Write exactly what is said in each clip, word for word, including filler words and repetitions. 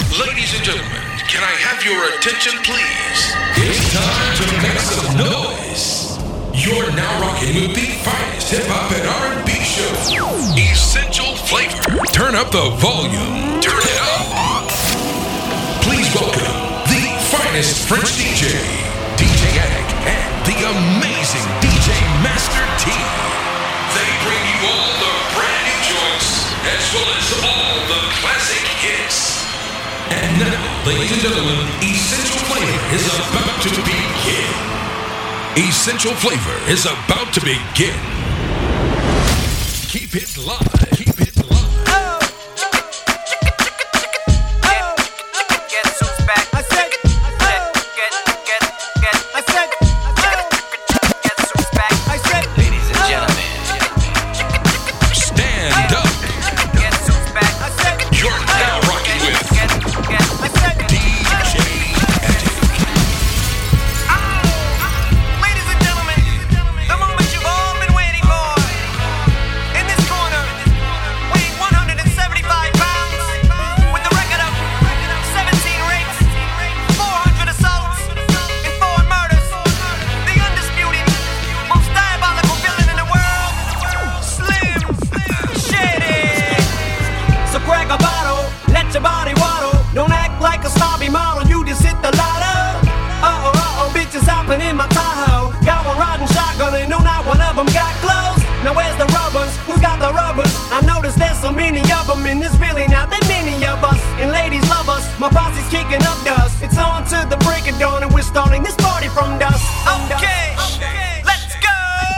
Ladies and gentlemen, can I have your attention, please? It's time to make some noise. You're now rocking with the finest hip-hop and R and B show, Essential Flavor. Turn up the volume. Turn it up. Please welcome the finest French D J, D J Attic, and the amazing D J Master T. They bring you all the brand new joints, as well as all the classic hits. And now, ladies and gentlemen, Essential Flavor is about to begin. Essential Flavor is about to begin. Keep it live. Keep it live. Oh. Oh. Guess who's back? I said. Oh. Get, get, get. I said. Oh. Guess who's back? I said. Ladies and gentlemen, stand up. Guess who's back? I said. You're now rocking with Get, get. I said. D J Attic. Ladies and gentlemen, the moment you've all been waiting for. In this corner, weighing one hundred seventy-five pounds, with a record of seventeen rapes, four hundred assaults, and four murders, the undisputed, most diabolical villain in the world, Slim Shady. So crack a bottle, let your body waddle. Don't act like a snobby model, you just hit the lotto. Uh-oh, uh-oh, bitches hopping in my Tahoe. Got one riding shotgun and no, not one of them got clothes. Now where's the rubbers? Who got the rubbers? I noticed there's so many of them in this really not that many of us. And ladies love us, my posse's kicking up dust. It's on to the break of dawn and we're starting this party from dusk. Okay, let's go!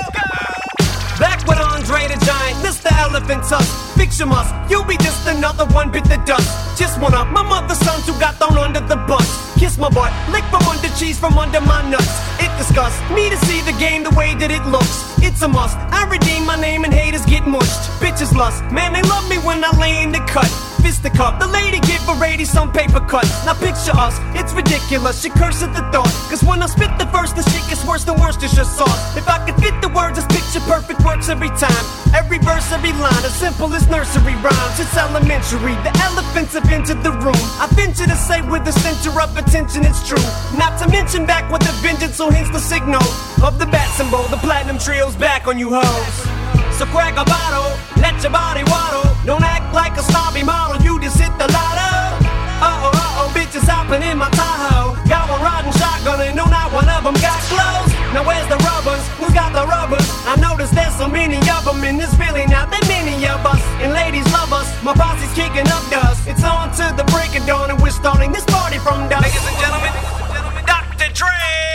Back with Andre the Giant, Mister Elephant Tusk. Picture us, you'll be just another one bit the dust. Just one of my mother's sons who got thrown under the bus. Kiss my butt, lick from under cheese from under my nuts. It disgusts me to see the game the way that it looks. It's a must, I redeem my name and haters get mushed. Bitches lust, man they love me when I lay in the cut. Fist the cup, the lady give a lady some paper cuts. Now picture us, it's ridiculous, she curse at the thought. Cause when I spit the verse, the shit gets worse than Worcestershire sauce. If I could fit the words, this picture perfect works every time. Every verse, every line, as simple as nursery rhymes. It's elementary, the elephants have entered the room. I venture to say with the center of attention it's true. Not to mention back with the vengeance, so hence the signal of the bat symbol. The platinum trio's back on you hoes. So crack a bottle, let your body waddle. Don't act like a snobby model, you just hit the lotto. Uh-oh, uh-oh, bitches hopping in my Tahoe. Got one riding shotgun and no, not one of them got clothes. Now where's the rubbers? Who got the rubbers? I noticed there's so many of them in this really not that many of us. And ladies love us, my posse's kicking up dust. It's on to the break of dawn and we're starting this party from dusk. Ladies and gentlemen, Doctor Dre.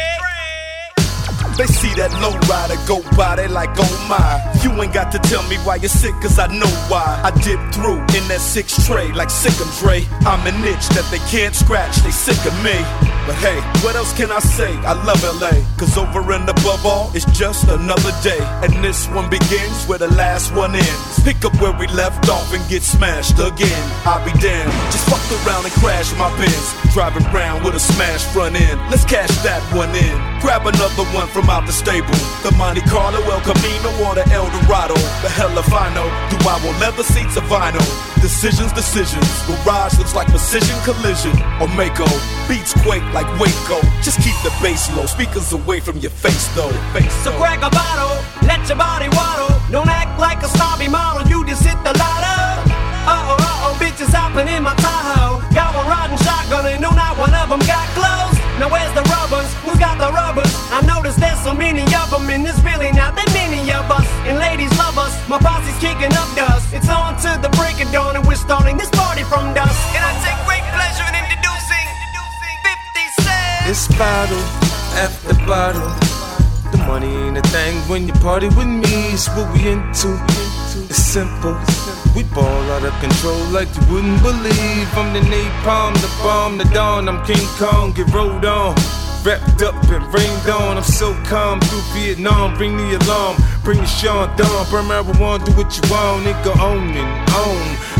They see that low rider go by, they like, oh my. You ain't got to tell me why you're sick, cause I know why. I dip through in that six tray like sick 'em Dre. I'm an itch that they can't scratch, they sick of me. But hey, what else can I say? I love L A, cause over and above all, it's just another day. And this one begins where the last one ends. Pick up where we left off and get smashed again. I'll be damned, just fucked around and crashed my Benz. Driving around with a smashed front end. Let's cash that one in. Grab another one from out the stable. The Monte Carlo, El Camino, or the El Dorado. The hell if I know. Do I want leather seats or vinyl? Decisions, decisions. Garage looks like precision collision. Or Mako. Beats quake like Waco. Just keep the bass low. Speakers away from your face though. Face so though. Crack a bottle, let your body waddle. Don't act like a snobby model, you just hit the lotto. Uh-oh, uh-oh, bitches hopping in my Tahoe. Got one riding shotgun and no, not one of them got clothes. Now where's the rubbers? Who got the rubbers? I noticed there's so many of them and there's really not that many of us. And ladies love us, my posse's kicking up dust. It's on to the break of dawn and we're starting this party from dusk. And I take great pleasure in introducing fifty cent. It's bottle after bottle. The money ain't a thing when you party with me. It's what we into. It's simple. We ball out of control like you wouldn't believe. I'm the napalm, the bomb, the dawn. I'm King Kong, get rolled on. Wrapped up and rained on. I'm so calm through Vietnam. Bring the alarm, bring the Sean Dawn. Burn marijuana, do what you want. Nigga, own and own.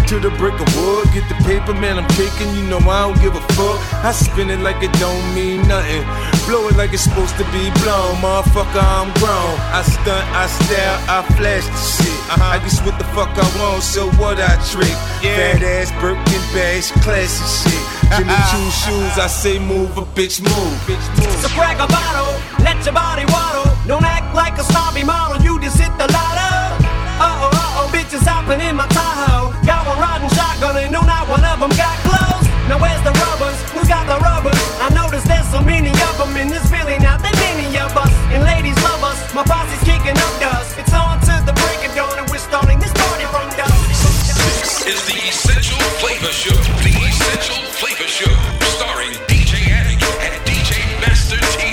to the brick of wood. Get the paper, man, I'm taking, you know I don't give a fuck. I spin it like it don't mean nothing. Blow it like it's supposed to be blown. Motherfucker, I'm grown. I stunt, I style, I flash the shit. Uh-huh. I guess what the fuck I want, so what I trick. Yeah. Fat ass, Birkin bags, classy shit. Jimmy Choo shoes, I say move, a bitch move. Bitch move. So crack a bottle, let your body waddle. Don't act like a snobby model, you just hit the lotto. Uh-oh, uh-oh, bitches hopping in my Tahoe. Got one riding shotgun and no, not one of them got clothes. Now where's the rubbers? Who got the rubbers? I noticed there's so many of them in this Philly, not that many of us. And ladies love us, my posse's kicking up dust. It's on to the break of dawn and we're starting this party from dusk. This is the Essential Flavor Show. The Essential Flavor Show, starring D J Attic and D J Master T.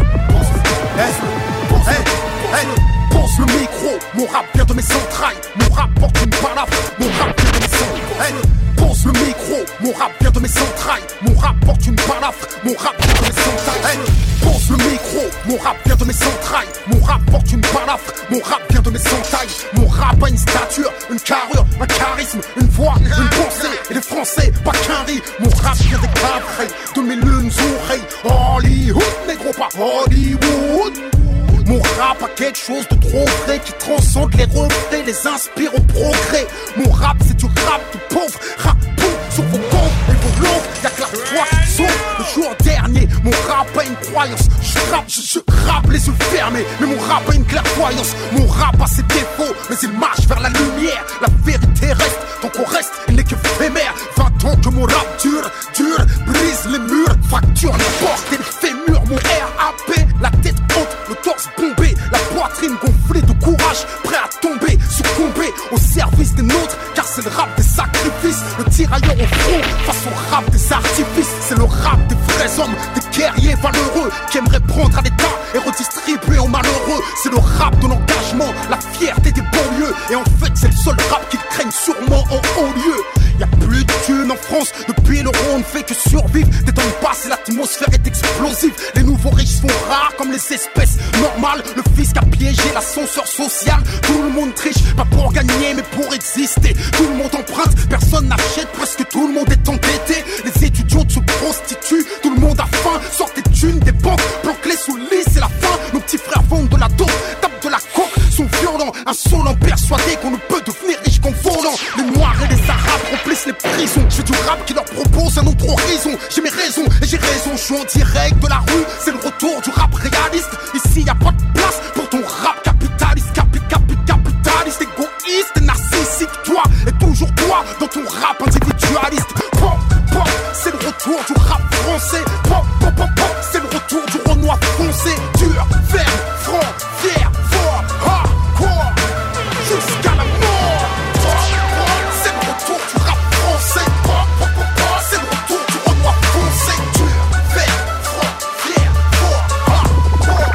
Hey, hey, hey, pose le micro, mon rap vient de mes entrailles. Mon rap porte une balafre, mon rap vient de mes entrailles. Hey, pose le micro, mon rap vient de mes entrailles. Mon rap porte une balafre, mon rap vient de mes entrailles. Hey, pose le micro, mon rap vient de mes entrailles. Mon rap porte une balafre, mon rap vient de mes entrailles. Mon rap a une stature, une carrure, un charisme, une voix, une pensée. Et les Français, pas qu'un riz. Mon rap vient des cavrets, de mes lunes oreilles. Hollywood, négro, pas Hollywood. Mon rap a quelque chose de trop vrai qui transcende les reflets, les inspire au progrès. Mon rap c'est du rap de pauvre, rap pauvre sur vos comptes et vos longues. Y'a que la foi qui sauve. Le jour dernier, mon rap a une croyance. Je rappe, je, je rappe les yeux fermés, mais mon rap a une clairvoyance. Mon rap a ses défauts, mais il marche vers la lumière. La vérité reste, tant qu'on reste, il n'est que éphémère. Vingt ans que mon rap dure, dure, brise les murs, fracture les portes et les fémurs. Mon R A P, la tête haute, le torse bombé, la poitrine gonflée de courage, prêt à tomber, succomber au service des nôtres, car c'est le rap des sacrifices, le tirailleur au front face au rap des artifices. C'est le rap des vrais hommes, des guerriers valeureux qui aimeraient prendre à l'état et redistribuer aux malheureux. C'est le rap de l'engagement, la fierté des banlieues, et en fait c'est le seul rap qu'ils craignent sûrement en haut lieu. Y'a plus de thunes en France, depuis l'euro on ne fait que survivre. Détonne pas si l'atmosphère est explosive. Les nouveaux riches sont rares comme les espèces normales. Le fisc a piégé l'ascenseur social. Tout le monde triche, pas pour gagner mais pour exister. Tout le monde emprunte, personne n'achète, presque tout le monde est endetté. Les étudiants se prostituent, tout le monde a faim. Sortent des thunes des banques, planquent-les sous le lit, c'est la fin. Nos petits frères vendent de la dope, tapent de la coke, sont violents, insolents, persuadés qu'on ne peut devenir riche qu'en volant. Les noirs et les arabes remplissent les prisons. Je fais du rap qui leur propose un autre horizon. J'ai mes raisons et j'ai raison, je suis en direct de la rue. C'est le retour du rap réaliste. Ici y a pas de place pour ton rap capitaliste. Capi, capi, capitaliste, égoïste et narcissique. Toi et toujours toi dans ton rap individualiste. Pop, pop, c'est le retour du rap français. Pop, pop, pop, pop, c'est le retour du Renoir foncé. Dur, ferme, franc, fier, fort, hardcore, jusqu'à la mort. Pop, pop, c'est le retour du rap français. Pop, pop, pop, pop, c'est le retour du Renoir foncé. Dur, ferme, franc, fier, fort, hardcore.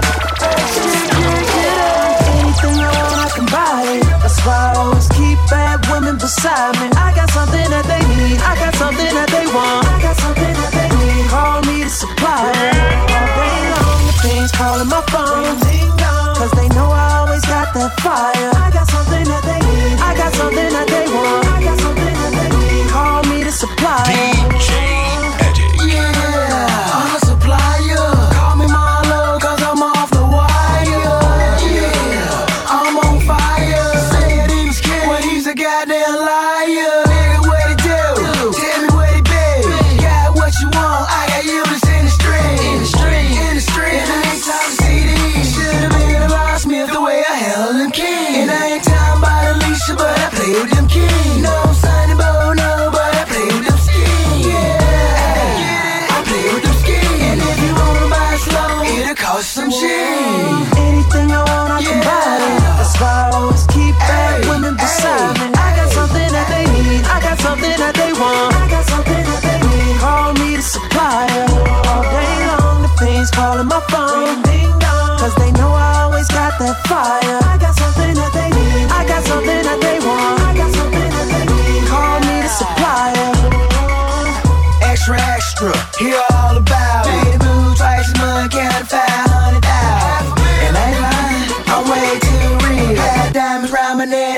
Anything I want, I can buy it. That's why I always keep bad women beside me. I got something that they need. I got something that they want. I got something that they need. Call me to supply it. All day long, the things calling my phone. Cause they know I always got that fire. I got something that they need. I got something that they want. I got something that they need. Call me to supply it. D J Attic. Yeah, I'm a supplier. Call me Marlo, cause I'm off the wire. Yeah, I'm on fire. Say it in his kid when he's a goddamn liar. Nigga, what it do? Tell me what it be. Got what you want, I got you that's in the street. In the street, in the street. And I ain't talking C D. Should've been a Ross Smith the way I held them king. And I ain't talking about Alicia, but I play with them king. No, I'm Sonny Bono, but I play with them skin. Yeah, I play with them skin. And if you wanna buy slow, it'll cost some shit. Anything I want, I can buy it. That's why I always keep bad women beside me. I got something that they need. I got something that they want. I got something that they need. Call me to supply it. All day long, the things calling my phone. Cause they know I always got that fire. I got something that they need. I got something that they want. I got something that they need. Call me to supply it. Extra, extra, hear all about it. Baby boo, twice a month, count five hundred thousand. And I ain't lying, I'm way too real. Got diamonds round my neck like a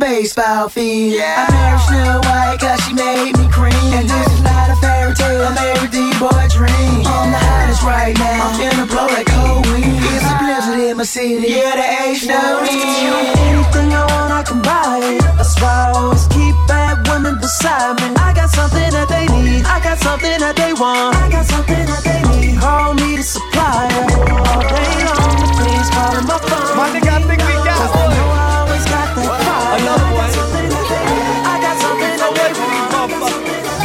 baseball field. I married Snow White cause she made me cream. And this is not a fairy tale, I'm every D-boy dream. I'm the hottest right now, I'm finna blow like cold wind. It's a blizzard in my city, yeah, there ain't no end. Anything I want, I can buy it. That's why I always keep bad women beside me. I got something that they need, I got something that they want, I got something that they need. Call me the supplier. All day long, please call my phone. My nigga, I think we got Cause I know I always got that fire. Another one. I got something that they want.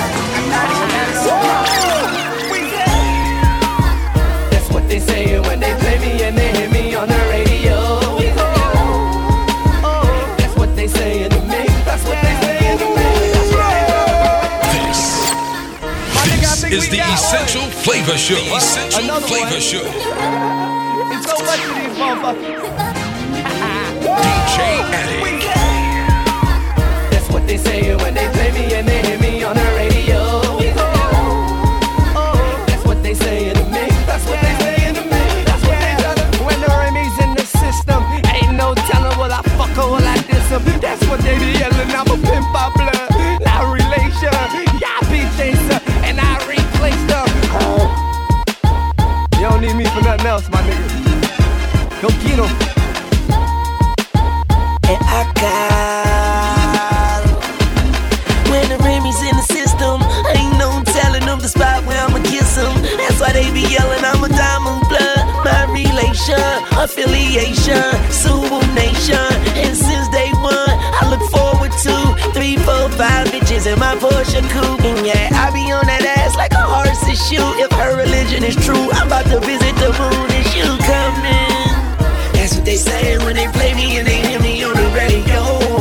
That's what they say when they play me and they hear me on the radio. That's what they say in the mix. That's what they say in the mix. That's right. This is the Essential Flavor Show. Essential Another Flavor one. Show. It's so much of these motherfuckers. D J Addict. That's what they say when they play me and they hear me on the radio. That's what they say in the mix. That's what they say in the mix. That's what they say. When the Remy's in the system, ain't no telling will I fuck or will I diss 'em. That's what they be yelling. I'm a pimp by blood, not relation. Y'all be chaser, and I replace them. You don't need me for nothing else, my nigga. Go get 'em. And I got when the Remy's in the system, ain't no telling them the spot where I'ma kiss them. That's why they be yelling I'm a diamond blood. My relation, affiliation, Subu Nation. And since day one, I look forward to three, four, five bitches in my Porsche coupe. And yeah, I be on that ass like a horse's shoe. If her religion is true, I'm about to visit the moon and you coming. That's what they say when they play me and they hear me on the radio.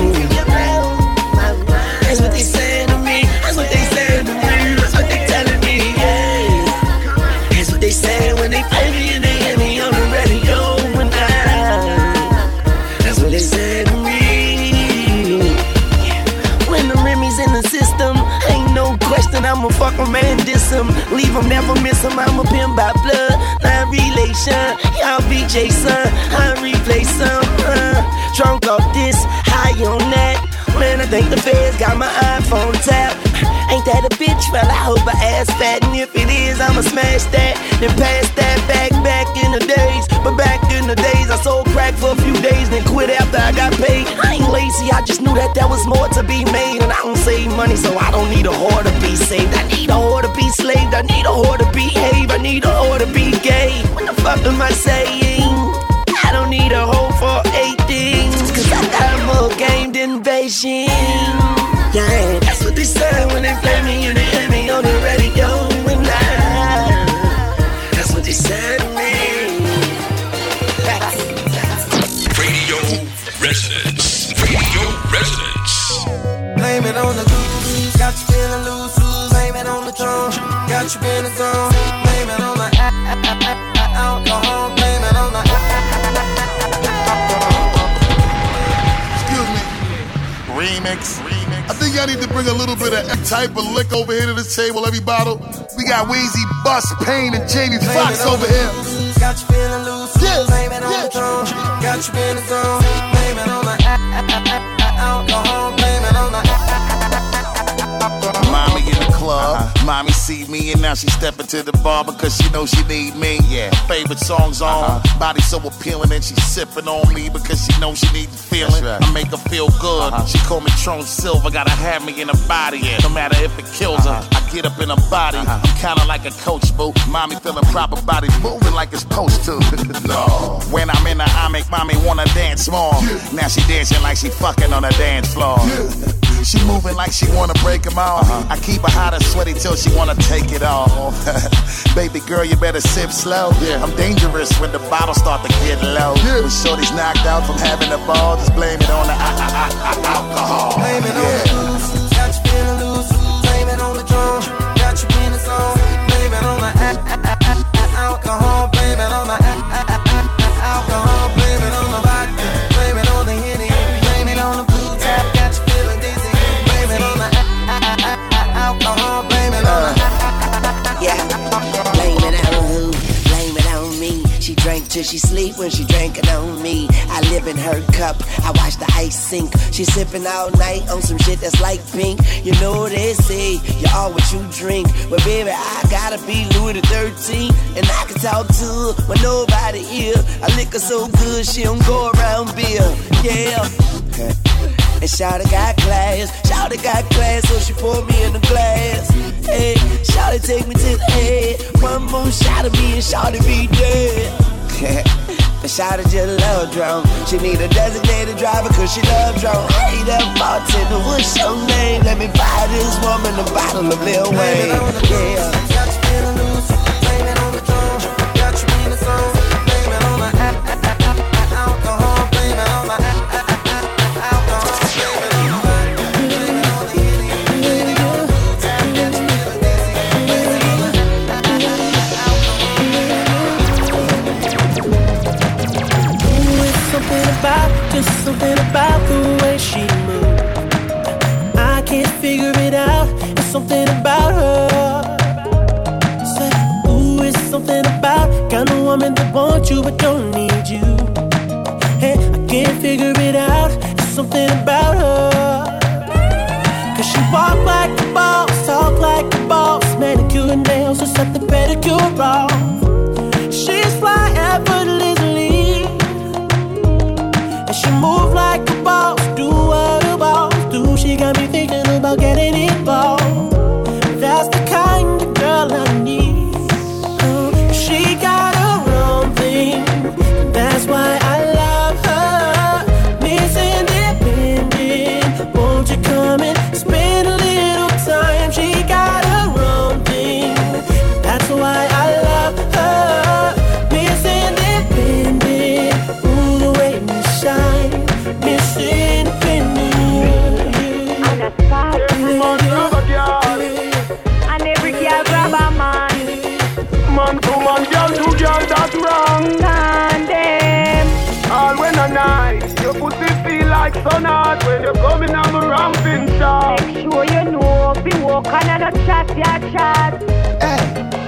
That's what they saying to me. That's what they saying to me. That's what they telling me. Yeah. That's what they saying when they play me and they hear me on the radio. And I, that's what they saying to me. When the Remy's in the system, ain't no question I'ma fuck 'em and diss 'em. Leave 'em, never miss 'em. I'm a pimp by blood, not relation. Y'all be Jason, I replace some. Uh, drunk off this, high on that. Man, I think the feds got my iPhone tapped. Ain't that a bitch? Well, I hope her ass fat. And if it is, I'ma smash that. Then pass that back, back in the days. But back in the days, I sold crack for a few days, then quit after I got paid. I ain't lazy, I just knew that there was more to be made. And I don't save money, so I don't need a whore to be saved. I need a whore to be slaved. I need a whore to behave. I need a whore to be gay. What the fuck am I saying? I don't need a hoe for eight things, cause I got more game than Beijing. Yeah, that's what they say when they play me and they hear me on the radio. And I, that's what they say to me. Radio Residence. Radio Residence. Blame it on the goose, got you feeling loose. Blame it on the drum, got you feeling gone. Blame it on the alcohol. Blame it on the Excuse me. Remix. I think y'all need to bring a little bit of F type of lick over here to this table, every bottle. We got Weezy, Bus, Payne, and Jamie Foxx over here. Got you feeling loose, Yeah, blame it on yeah. the drum. Got you feeling gone, blame it on the alcohol. Blame it on the Mommy in the club, uh-huh. Mommy see me and now she stepping to the bar because she knows she need me. Yeah, favorite songs on, uh-huh. Body so appealing and she sipping on me because she knows she need the feeling. Right. I make her feel good. Uh-huh. She call me Tron Silver, gotta have me in her body. Yeah. No matter if it kills uh-huh. her, I get up in her body. Uh-huh. I'm kinda like a coach, boo. Mommy feeling proper, body moving like it's supposed to. No. When I'm in her, I make mommy wanna dance more. Yeah. Now she dancing like she fucking on the dance floor. Yeah. She moving like she wanna break them off. Uh-huh. I keep her hot and sweaty till she wanna take it off. Baby girl, you better sip slow. Yeah. I'm dangerous when the bottles start to get low. Yeah. When shorty's knocked out from having a ball, just blame it on the uh, uh, uh, uh, alcohol. Blame it yeah. on the loose, got you feeling loose. Blame it on the drum, got you feeling song. Blame it on the alcohol. Blame it on the alcohol. Blame it on the vodka. Blame it on the Henny. Blame it on the blue tap. Got you feeling dizzy. Blame it on the alcohol. Blame it on the Yeah, blame it on who? Blame it on me. She drank till she sleep when she drinking on me. I live in her cup, I watch the ice sink. She sipping all night on some shit that's like pink. You know what they say, you are what you drink. But baby, I gotta be Louis the thirteenth, and I can talk to her when nobody here. I lick her so good, she don't go around beer. Yeah. And Shawty got class, Shawty got class, so she poured me in the glass. Hey, Shawty take me to the head. One more shot of me and Shawty be dead. And Shawty just love drunk. She need a designated driver cause she love drunk. Hey, that bartender, what's your name? Let me buy this woman a bottle of Lil Wayne. Yeah. Got you feeling loose, blame it on the drum. Got you in the zone, blame it on the alcohol, blame it on the alcohol, blame it on the something about, just something about the way she moves. I can't figure it out, it's something about her. Say, ooh, it's something about kind of woman that wants you but don't need you. Hey, I can't figure it out, it's something about her. Cause she walk like a boss, talk like a boss, manicure and nails or set the pedicure off. She's fly effortlessly. She move like a boss, do what a boss do. She got me thinking about getting involved. That's the kind of girl I need. Oh, she got her own thing. That's why I love her. Miss Independent, won't you come and spend a little time? She got her own thing. That's why I love her. Miss Independent, ooh, the way we shine. Miss Independent. And a spot. And every girl grab a man. Man to man, girl to girl, that's wrong. Tandem. All when a night, your pussy feel like sun hot when you're coming on the ramping shop. Make sure you know, be walk another chat, yeah, chat. Hey,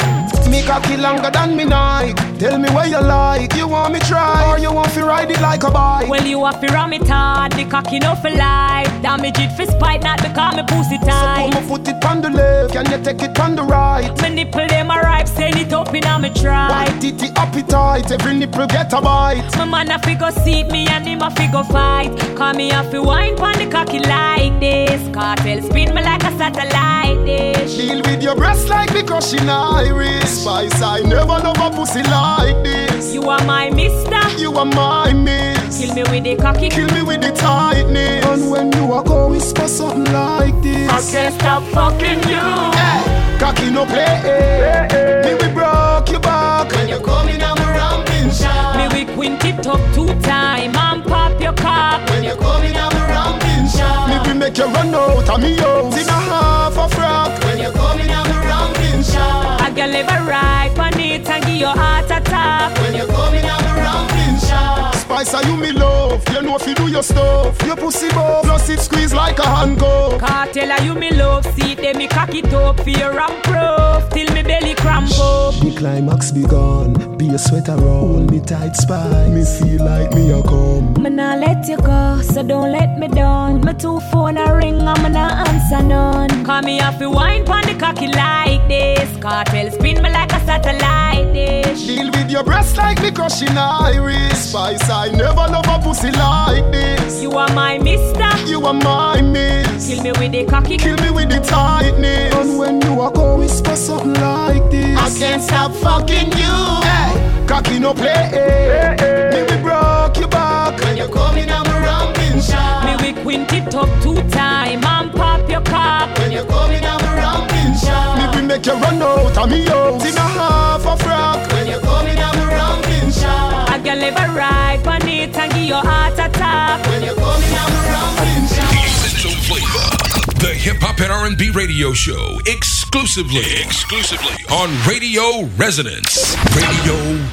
me cocky longer than me night. Tell me what you like, you want me try, or you want to ride it like a bike? Well, you have to ram it hard, the cocky no for life. Damage it for spite, not because me pussy tight. So put me foot it on the left, can you take it on the right? My nipple them a ripe, send it up in a me try. White titty appetite, every nipple get a bite. My man a fi go seat me and him a fi go fight. Call me a fi wine pon the cocky like this. Cartel spin me like a satellite dish. Deal with your breast like me crushing iris. Spice, I never love a pussy like this. You are my mister, you are my miss. Kill me with the cocky, kill me with the tightness. And when you walk out, whisper something like this. I can't stop fucking you. Hey, cocky no play. Hey, hey. Me we broke your back when you're coming on my ramping shot. Me we quint it up two time and pop your cock when you're coming on my ramping shot. Me we make you run out of me house in a half a frock when you're coming on my ramping shot. I can live a right on it and give your heart attack when you're coming on my ramping shot. Spice, are you me love? You know if you do your stuff, your pussy buff, plus it squeeze like a hand glove. Cartel, are you me love? See them me cock it up, fear and proof till me belly cramp up. The climax begun, be a sweater roll, me tight spice. Me feel like me a come. Me nah let you go, so don't let me down. My two phone a ring and me nah answer none. Call me off the wine pon the cocky like this. Cartel spin me like a satellite dish. Deal with your breast like me crushing iris. Spice, I never love a pussy like this. You are my mister, you are my miss. Kill me with the cocky, kill me with the tightness. And when you walk out, whisper something like this. I can't stop fucking you. Hey, cocky no play. Hey, hey. Me we broke your back when you're coming on my ramping shot. Me we quint it up two time and pop your cock when you're coming on my ramping shot. Me we make you run out of me house in a half a frock when you're coming on my ramping shot. I can live a right on it and give your heart attack when you're coming on my ramping shot. Essential Flavor, the hip hop and R and B radio show, exclusively, exclusively on Radio Resonance. Radio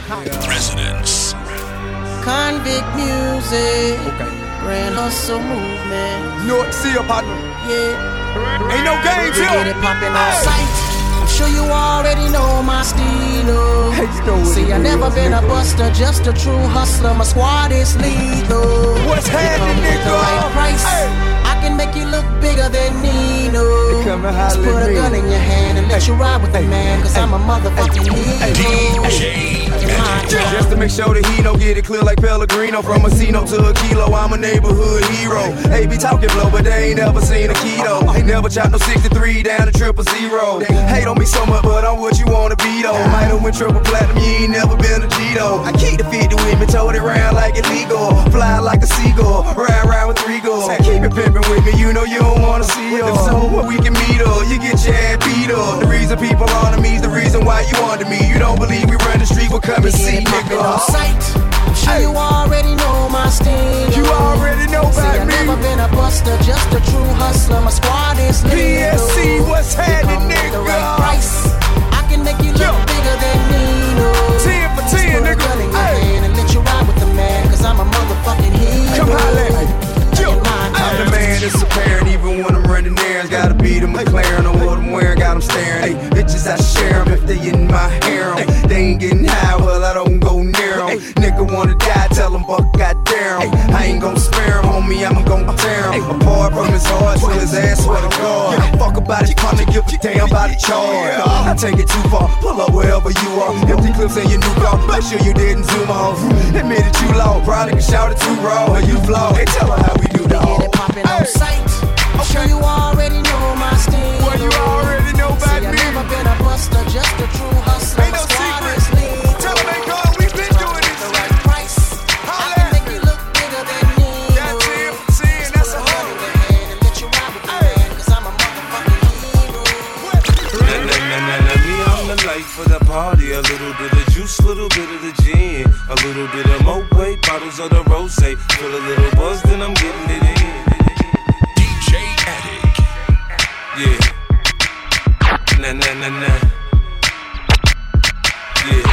Resonance. Convict music. Okay. Grand hustle movement. No, see your partner. Yeah. Ain't no games here. Get it poppin' on sight. I'm sure you already know my stilo. See, I never been a buster, just a true hustler. My squad is lethal. What's happening, nigga? The right price. Hey. I can make you look bigger than Nino. Just put a gun in your hand and let you ride with the man, cause I'm a motherfucking hero. Just to make sure that he don't get it clear like Pellegrino. From a Cino to a kilo, I'm a neighborhood hero. They be talking blow, but they ain't never seen a keto. Ain't never chopped no sixty-three down to triple zero. They hate on me so much, but I'm what you wanna be though. Might have went triple platinum, you ain't never been a G though. I keep the fifty with me, told it round like illegal. Fly like a seagull, ride around with three goals. Keep it pimpin' with me, you know you don't wanna see her. So where we can meet her, you get your ass beat up. The reason people honor me is the reason why you under me. You don't believe we run the street, well come and see, nigga. On sight. I'm sure you already know my style. You already know about See, I me. never been a buster, just a true hustler. My squad is lethal. P S C, what's happening, nigga? The right price. I can make you look Yo. bigger than Nino. ten for ten, nigga. Gun in your hand and let you ride with the man, cause I'm a motherfucking hero. Come holla at me. I'm the man that's apparent, even when I'm running errands. Gotta beat them McLaren on what I'm wearing, got them staring. Hey, bitches, I share them if they in my harem. Hey, they ain't getting high, well, I don't go near them. Hey, nigga wanna die, tell them, buck, goddamn. Hey, I ain't gon' spare him, homie, I'm gon' tear him. Hey, apart from his heart, to his ass, swear to God. Yeah, fuck about his partner, give a damn about the charge. I take it too far, pull up wherever you are. Empty clips in your new car, make sure you didn't zoom off. Admit it, you low, probably can shout it too raw. Or you flow, hey, tell her how we do that. Get it poppin' on sight. I'm sure you already know my style. Well, you already know about See, me. I never been a buster, just a true hustler. Ain't no secret. Tell them, hey, God, we been doing this. The right price. I can make you look bigger than me. That's ten for ten, that's a hundred. And let you ride with the man, cause I'm a motherfucking hero. Nah, nah, nah, nah, nah, me, I'm the life of the party. A little bit of juice, little bit of the gin. A little bit of Moët, bottles of the rosé. Feel a little buzz, then I'm getting it in. Yeah. Nah, nah, nah, nah. Yeah.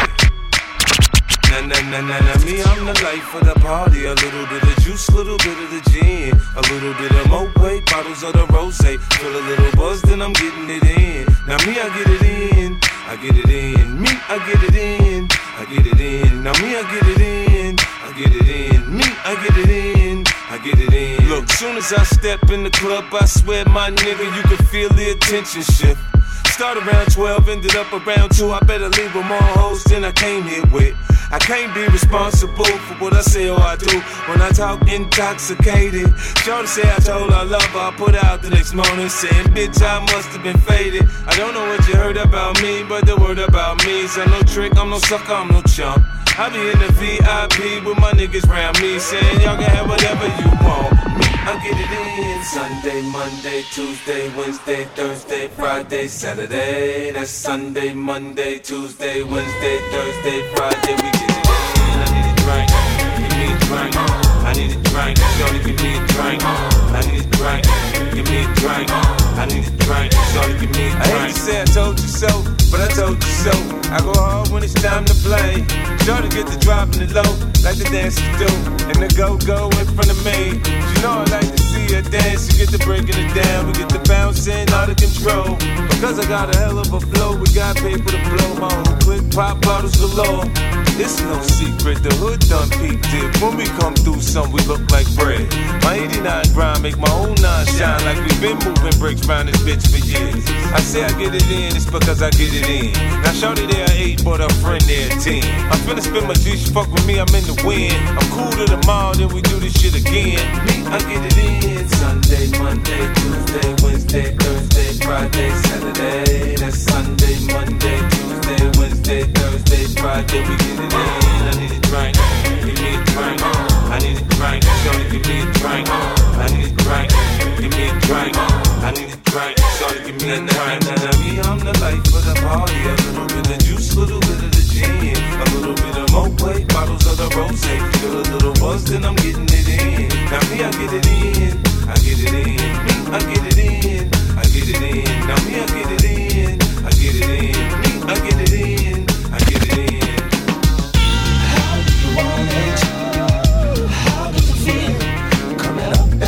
Nah, nah, nah, nah, nah. Me, I'm the life of the party. A little bit of juice, little bit of the gin. A little bit of Moët, bottles of the rosé. Feel a little buzz, then I'm getting it in. Now me, I get it in. I get it in. Me, I get it in. I get it in. Now me, I get it in. I get it in. Me, I get it in. I get it in. Look, soon as I step in the club, I swear, my nigga, you can feel the attention shift. Start around twelve, ended up around two. I better leave with more hoes than I came here with. I can't be responsible for what I say or I do when I talk intoxicated. Shorty say I told her I love her, I put out the next morning saying, bitch, I must have been faded. I don't know what you heard about me, but the word about me is I'm no trick, I'm no sucker, I'm no chump. I be in the V I P with my niggas round me saying y'all can have whatever you want. Me, I get it in Sunday, Monday, Tuesday, Wednesday, Thursday, Friday, Saturday. That's Sunday, Monday, Tuesday, Wednesday, Thursday, Friday. We get it in. I need a drink. Give me a drink. I need a drink. Shorty, give me a drink. I need a drink. Give me a drink. I need a drink. Shorty, give me a drink. I hate to say I told you so, but I told you so. I go hard when it's time to play. Shorty get the dropping it low, like the dancers do. And the go-go in front of me. You know I like to see her dance. You get the breaking it down, we get the bouncing out of control. Because I got a hell of a flow, we got paper to blow. My own clip, pop bottles galore. It's no secret, the hood done peeped it. When we come through, some we look like bread. My eighty-nine grind make my own nine shine like we've been moving bricks round this bitch for years. I say I get it in, it's because I get it in. Now shorty there eight, but her friend there ten. I'm finna spend my G, she fuck with me, I'm in the wind. I'm cool to the mall, then we do this shit again. Me, I get it in. Sunday, Monday, Tuesday, Wednesday, Thursday, Friday, Saturday. That's Sunday, Monday, Tuesday, Wednesday, Thursday, Friday. We get it in. I need a drink. Give me a drink. I need a drink. Shorty, give me a drink. I need a drink. Give me a drink. I need a drink. Shorty, give me a drink. Now me, I'm the life of the party. A little bit of juice, little bit of the gin. A little bit of Moët, bottles of the rosé. Feel a little buzz, then I'm getting it in. Now me, I get it in. I get it in. Me, I get it in. I get it in. Now me, I get it in. I get it in. Me, I get it in. I get it in. How do you want it? How does it feel? Coming up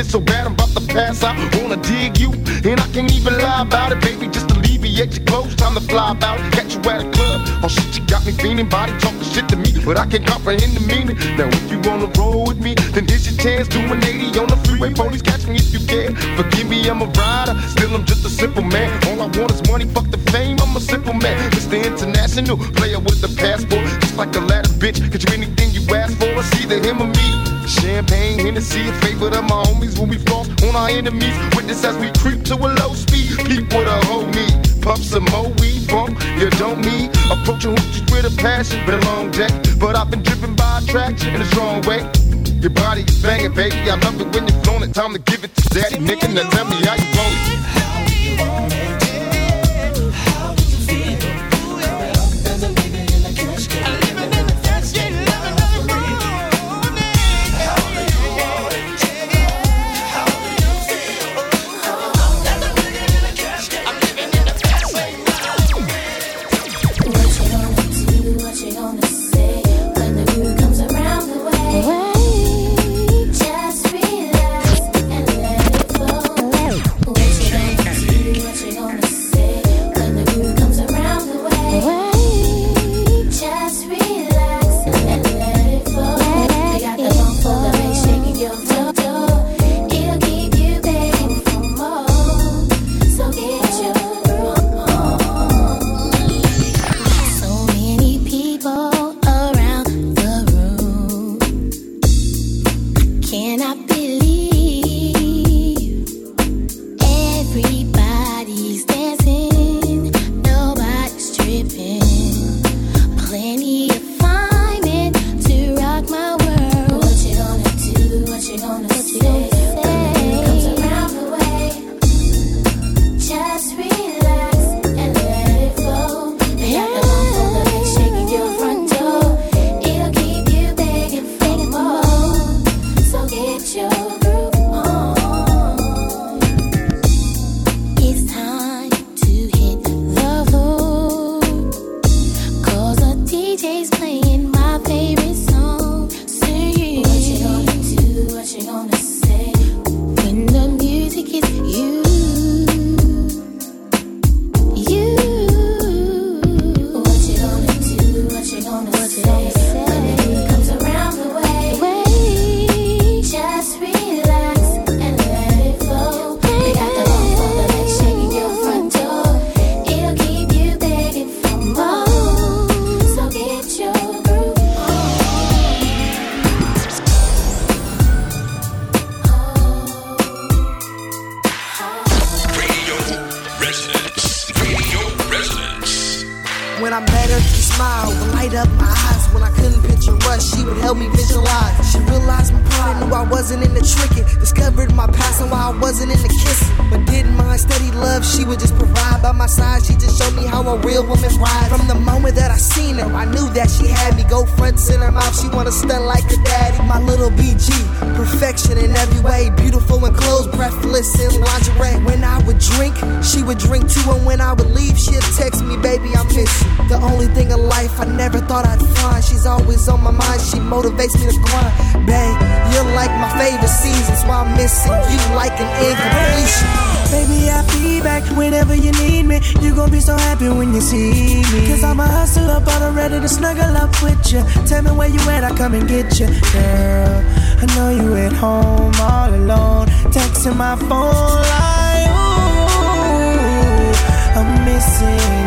shit so bad I'm about to pass out. Wanna dig you, and I can't even lie about it, baby. Just alleviate your clothes, time to fly about. Catch you at a club, oh shit, you got me feeling. Body talking shit to me, but I can't comprehend the meaning. Now if you wanna roll with me, then here's your chance. Do an eighty on the freeway, police catch me if you can. Forgive me, I'm a rider, still I'm just a simple man. All I want is money, fuck the fame, I'm a simple man. Mister International, player with the passport. Just like a ladder, bitch, get you anything you ask for. It's either him or me. Champagne, Hennessy, a favorite of my homies. When we floss on our enemies, witness as we creep to a low speed. Peep with a whole me, puff some more weed, bump, you don't need. Approaching hoochies with a passion, been a long day, but I've been driven by attraction in a strong way. Your body is banging, baby, I love it when you're flown it. Time to give it to daddy, nigga, now tell me how you want it. How do you want it? How do you feel? As a nigga in the cash game. I live in the cash game, living on the road. How do you want it? How do you feel? As a nigga in the cash game. I'm living in the cash game. What you gonna do? What you gonna say when the mood comes around the way? Motivates me to grind, babe. You're like my favorite seasons, while I'm missing you like an incompletion. Baby, I'll be back whenever you need me. You gon' be so happy when you see me. Cause I'm a hustler, but I'm ready to snuggle up with you. Tell me where you at, I come and get you. Girl, I know you at home all alone, texting my phone like, ooh, I'm missing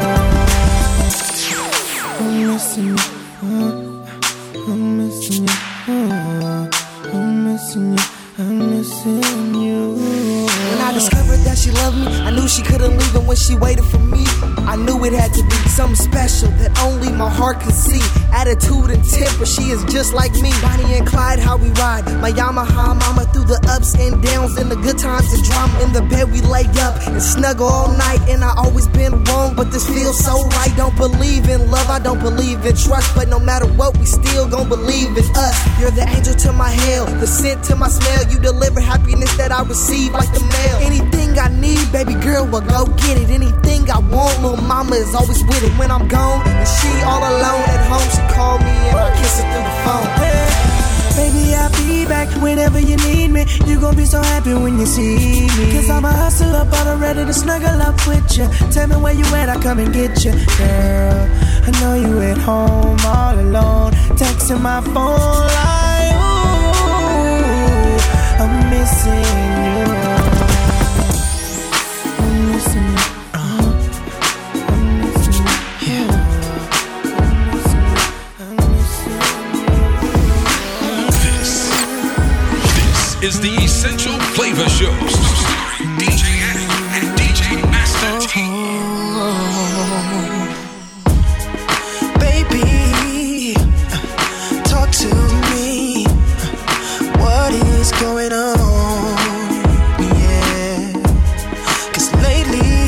you. I'm missing you. I'm missing you, oh, I'm missing you, I'm missing you. When I discovered that she loved me, I knew she couldn't leave, and when she waited for me, I knew it had to be something special that only my heart could see. Attitude and temper, she is just like me. Bonnie and Clyde, how we ride. My Yamaha mama through the ups and downs and the good times and drama. In the bed we lay up and snuggle all night, and I always been wrong, but this feels so right. Don't believe in love, I don't believe in trust, but no matter what, we still gon' believe in us. You're the angel to my hell, the scent to my smell. You deliver happiness that I receive like the mail. Anything I need, baby girl, well go get it. Anything I want, little mama is always with it. When I'm gone and she all alone at home, she call me and I kiss her through the phone. Baby, I'll be back whenever you need me. You gon' be so happy when you see me. Cause I'm a hustler, but I'm ready to snuggle up with you. Tell me where you at, I come and get you. Girl, I know you at home all alone. Texting my phone like, ooh, I'm missing you. I'm missing you. Is the Essential Flavor Show starring D J Addict and D J Master T. Baby, talk to me. What is going on? Yeah, 'cause lately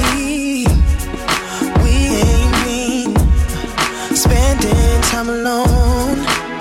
we ain't been spending time alone.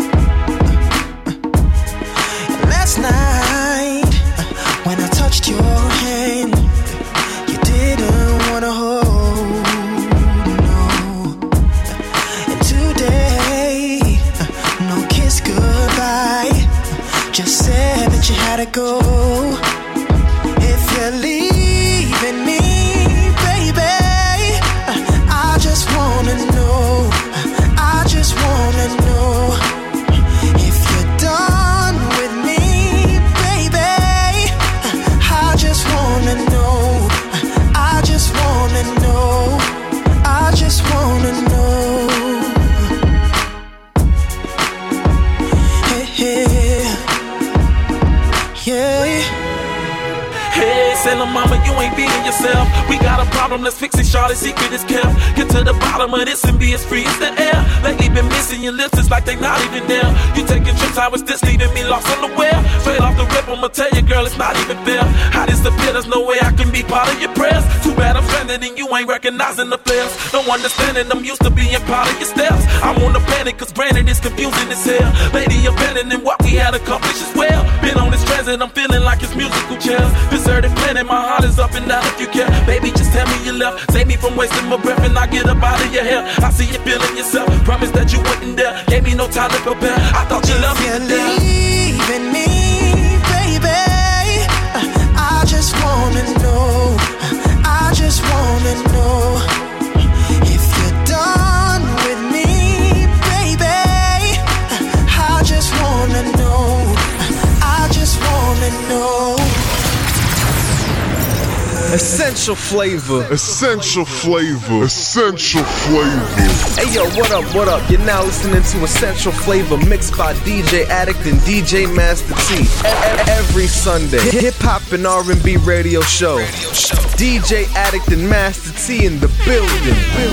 Last night when I touched your hand, you didn't wanna hold, no. And today, no kiss goodbye, just said that you had to go. If you're leaving me, baby, I just wanna know, I just wanna know if you're done with me, baby. I just wanna know, I just wanna know, I just wanna know. Hey, hey, yeah. Hey, Sailor Mama, you ain't being yourself. We got a problem, let's fix it, Charlotte. Secret is kept. Get to the bottom of this and be as free as the air. Lately been missing your lips, it's like they not even there. You taking trips, I was just leaving me lost unaware. Straight off the rip, I'ma tell you, girl, it's not even fair. I disappear, there's no way I can be part of your prayers. Too bad I'm stranded and you ain't recognizing the flares. No understanding, I'm used to being part of your steps. I'm on the panic, cause granted it's confusing as hell. Lady, abandoning what we had accomplished as well. Been on this transit, I'm feeling like it's musical chairs. Deserted planet, my heart is up and down if you care. Baby, just tell me you left. Save me from wasting my breath and I get up out of your hair. I see you feeling yourself. Promise that you wouldn't dare. Gave me no time to prepare. I thought you loved me to death. Leaving me, baby, I just wanna know, I just wanna know if you're done with me, baby. I just wanna know, I just wanna know. Essential Flavor. Essential Flavor. Essential Flavor. Hey yo, what up, what up? You're now listening to Essential Flavor mixed by D J Addict and D J Master T. Every Sunday, hip hop and R and B radio show. D J Addict and Master T in the building.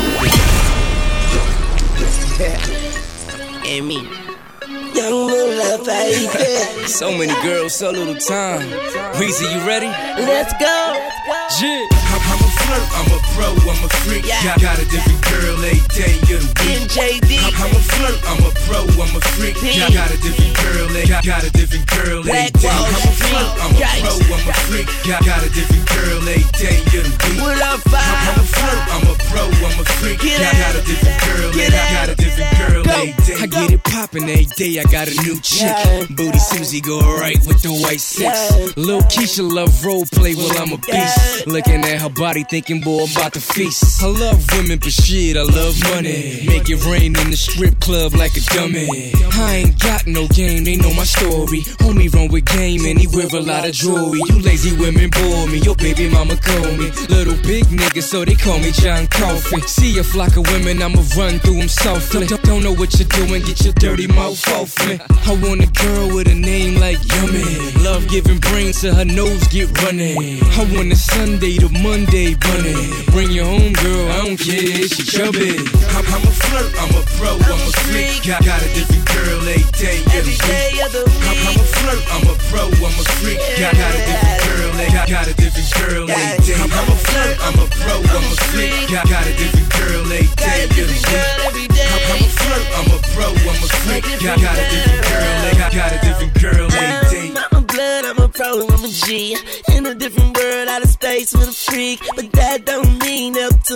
And me. Young Moolah, baby. So many girls, so little time. Weezy, you ready? Let's go. Yeah. I'm a flirt, I'm a pro, I'm a freak. Yeah. Got, got a different girl every day of the week. M J D. I'm a flirt, I'm a pro, I'm a freak. Got, got a different girl, got, got a different girl every day. I'm a flirt, I'm a pro, I'm a freak. Got, got a different girl every day of the week. What up, I'm a flirt, I'm a pro, I'm a freak. Got, got a different girl, got, got a different girl every day. I get it poppin' every day, I got a new chick. Yeah. Booty Susie go right with the white six. Yeah. Lil Keisha love role play while I'm a beast. Yeah. Looking at her body thinking, boy, I'm about to feast. I love women, but shit, I love money. Make it rain in the strip club like a dummy. I ain't got no game, they know my story. Homie run with game and he wear a lot of jewelry. You lazy women bore me, your baby mama call me Little big nigga, so they call me John Coffey. See a flock of women, I'ma run through them softly. Don't, don't know what you're doing, get your dirty mouth off me. I want a girl with a name like Yummy. Love giving brains so her nose get running. I want a Sunday to Monday bunny. Bring your home girl, I don't care, she chubby. I'm, I'm a flirt, I'm a pro, I'm a freak. Got, got a different girl every day of the week. I'm, I'm a flirt, I'm a pro, I'm a freak. Got, got a different girl, got, got a different girl every day. I'm, I'm a flirt, I'm a pro, I'm a freak. Got, got a different girl every day of the week. I'm, I'm a flirt, I'm a pro, I'm a freak. Got, got a different girl, got, got a different girl every day. I'm a blood, I'm a pro, I'm a G. In a different world, out of space with a freak. But that don't mean Neptune on the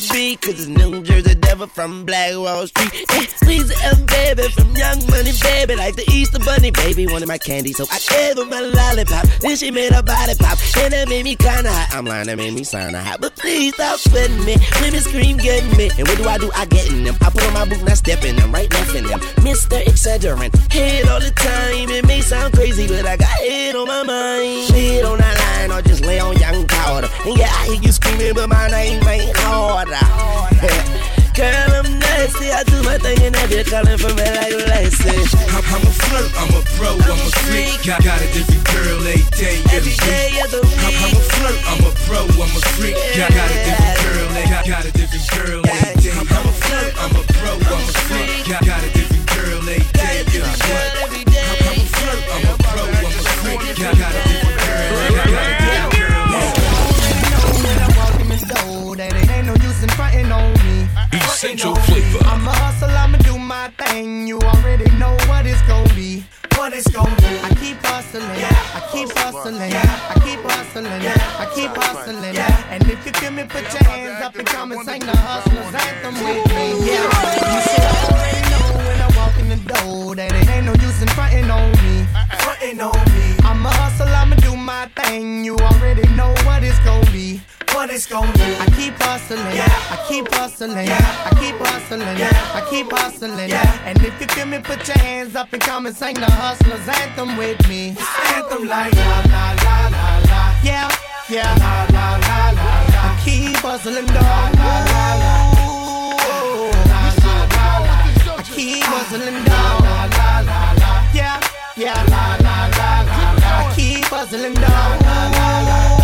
be, cause it's New Jersey Devil from Black Wall Street. Yeah, Lisa M. Baby from Young Money Baby, like the Easter Bunny baby, wanted my candy, so I gave her my lollipop. Then she made her body pop, and that made me kinda hot. I'm lying, that made me kinda hot, but please stop sweating me. Women scream, get me, and what do I do? I get in them. I put on my boot, not step in them, right left in them. Mister Exaggerant, head all the time. It may sound crazy, but I got head on my mind. Head on that line, or just lay on young powder. And yeah, I hear you screaming, but my name ain't harder. Girl, I'm nasty, I do my thing and I be calling for me like Lacey. I'm, I'm a flirt, I'm a pro, I'm a freak. Got, got a different girl every day, every day of the week. I'm, I'm a flirt, I'm a pro, I'm a freak. Got, got a different girl, got, got a different girl every day. I'm, I'm a flirt, I'm a pro, I'm a freak. Got, got a different girl every day, every day. I'm, I'm a flirt, I'm a pro, I'm a freak. Got, got a different girl, got, got a different girl. When I walk in the door, that it ain't no use in frontin' on me. Essential flavor. I'm a hustle, I'ma do my thing. You already know what it's gon' be. What it's gon' be. I keep hustling, I keep hustling, I keep hustling, I keep hustling. And if you feel me, put your hands up and come and sing the hustler's anthem with me. Yeah, you should already know when I walk in the door that it ain't no use in frontin' on me. Frontin' on me. I'm a hustle, I'ma do my thing. You already know what it's gon' be. What it's gon' be. I keep hustling, I keep hustling, I keep hustling, I keep hustling. And if you feel me, put your hands up and come and sing the hustler's anthem with me. Anthem like la la la la la. Yeah, yeah, la la la la la. I keep hustling, dog. La la la la la. I keep hustling, dog. La la la la. Yeah, yeah, la la la la la. I keep hustling, dog. La la la.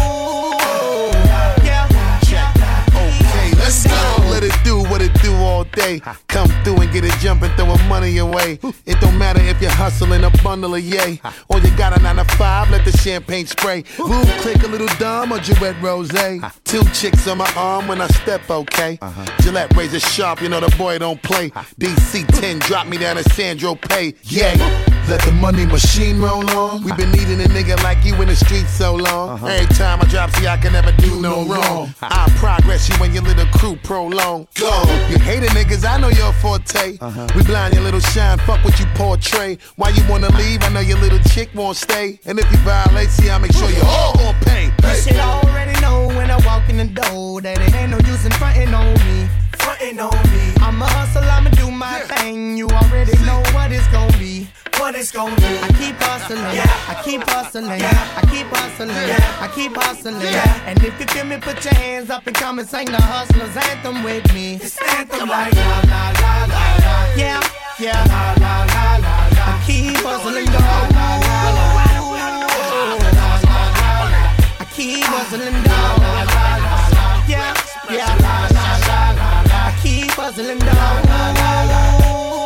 Let's go. Let it do what it do all day. Come through and get it jumping, throwing money away. It don't matter if you're hustling a bundle of yay, or you got a nine to five, let the champagne spray. Boom, click a little dumb or Gillette Rose. Two chicks on my arm when I step, okay. Gillette razor sharp, you know the boy don't play. D C ten, drop me down to Sandro Pay. Yay. Let the money machine roll on. We been needing a nigga like you in the streets so long. Uh-huh. Every time I drop, see I can never do no wrong. I progress you when your little crew prolong. Go. You hating niggas, I know your forte. Uh-huh. We blind your little shine, fuck what you portray. Why you wanna leave? I know your little chick won't stay. And if you violate, see I make sure you all gon' pay. You should already know when I walk in the door that it ain't no use in frontin' on me. Frontin' on me. I'm a hustle, I'ma do my yeah. thing. You already see. Know what it's gon' be. What it's gon' be. I keep hustling, yeah. I keep hustling, yeah. I keep hustling, yeah. I keep hustling. Yeah. And if you feel me, put your hands up and come and sing the hustler's anthem with me. It's anthem like la la la la la. Yeah, yeah, la la la la la. I keep hustling, dog. La la la la la. I keep hustling, dog. La la la la. Yeah, yeah, la la la la. I keep hustling, dog. La la la.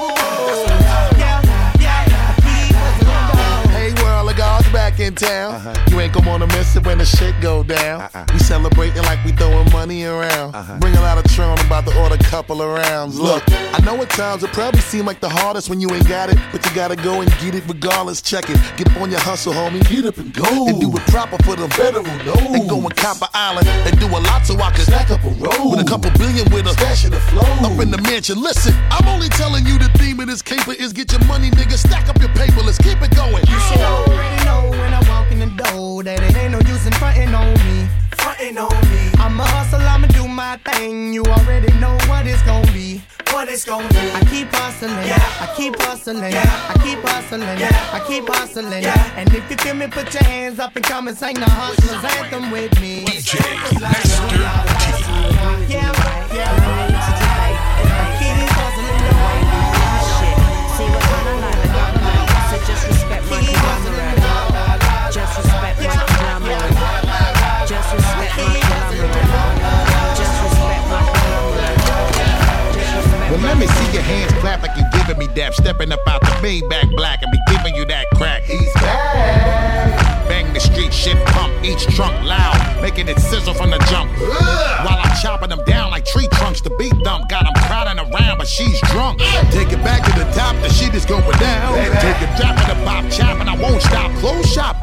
Back in town, uh-huh. You ain't gon' wanna miss it when the shit go down. Uh-uh. We celebrating like we throwing money around. Uh-huh. Bring a lot of Tron, about to order a couple of rounds. Look, I know at times it probably seem like the hardest when you ain't got it, but you gotta go and get it regardless. Check it, get up on your hustle, homie. Get up and go, and do it proper for the federal know. And go and Copper Island and do a lot so I can stack up a roll with a couple billion with a stash of the flow up in the mansion. Listen, I'm only telling you the theme of this caper is get your money, nigga. Stack up your paper, let's keep it going. You should already know when I walk in the door that it ain't no use in frontin' on me. Frontin' on me. I'm a hustle, I'ma do my thing. You already know what it's gon' be. What it's gon' be. I keep hustling, yeah. I keep hustling, yeah. I keep hustling, yeah. I keep hustling, yeah. And if you feel me, put your hands up and come and sing the hustler's anthem with me. D J Master T. Yeah, yeah. I keep hustling, yeah. See what kind of life I got. So just respect my conglomerate. Just respect my conglomerate. Just respect my conglomerate. Just respect my conglomerate. Well, let me see your hands clap like you giving me dap. Stepping up out the Maybach black and be giving you that crack. He's back. Bang the street shit pump, each trunk loud, making it sizzle from the jump. While I'm chopping them down like tree trunks, the beat dump got them crowding around, but she's drunk. Take it back to the top, the shit is going down. Take it drop in the pop chop, and I won't stop. Close shop,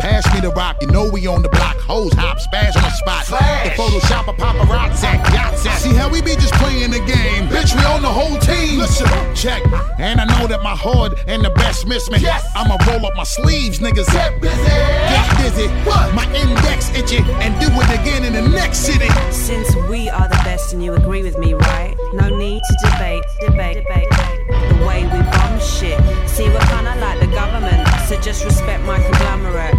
pass me the rock. You know we on the block. Hoes hop, spaz on the spot. Flash. The Photoshop a paparazzi at yachts at. See how we be just playing the game. Bitch, we on the whole team. Listen, check. And I know that my hood and the best miss me. Yes. I'ma roll up my sleeves, niggas. Get busy. Get busy. What? My index itchy and do it again in the next city. Since we are the best and you agree with me, right? No need to debate, debate, debate. The way we bomb shit. See, we're kinda like the government, so just respect my conglomerate.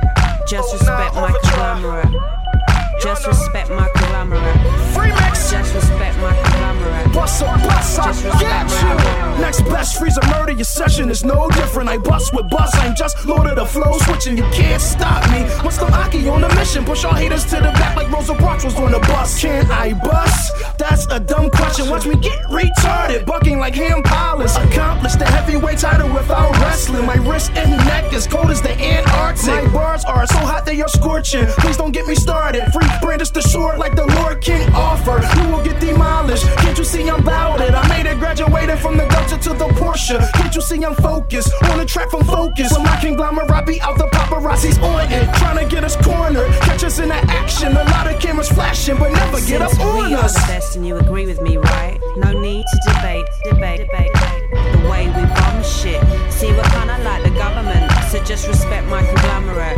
Just respect my conglomerate. Just respect my conglomerate. Free mix. Just respect my conglomerate. Bust up, bust up, Just respect get my you. conglomerate. Next best freeze a murder, your session is no different. I bust with bust, I'm just Lord of the flow switching. You can't stop me. What's the Aki on the mission? Push all haters to the back like Rosa Parks was on the bus. Can I bust? That's a dumb question. Watch me get retarded, bucking like Ham Palace. Accomplished the heavyweight title without wrestling. My wrist and neck is cold as the Antarctic. My bars are so hot they are scorching. Please don't get me started. Free brandish the sword like the Lord King offer. You will get demolished. Can't you see I'm bout it? I made it graduated from the Delta to the Porsche. Can't you see I'm focused? On the track from Focus. When my conglomerate be out, the paparazzi's on it. Trying to get us cornered. Catch us in the action. A lot of cameras flashing, but never get up Since on we us. are the best and you agree with me, right? No need to debate, debate, debate. The way we bomb shit. See, we're kinda like the government, so just respect my conglomerate.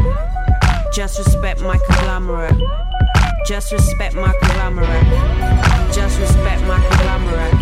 Just respect my conglomerate. Just respect my conglomerate. Just respect my conglomerate.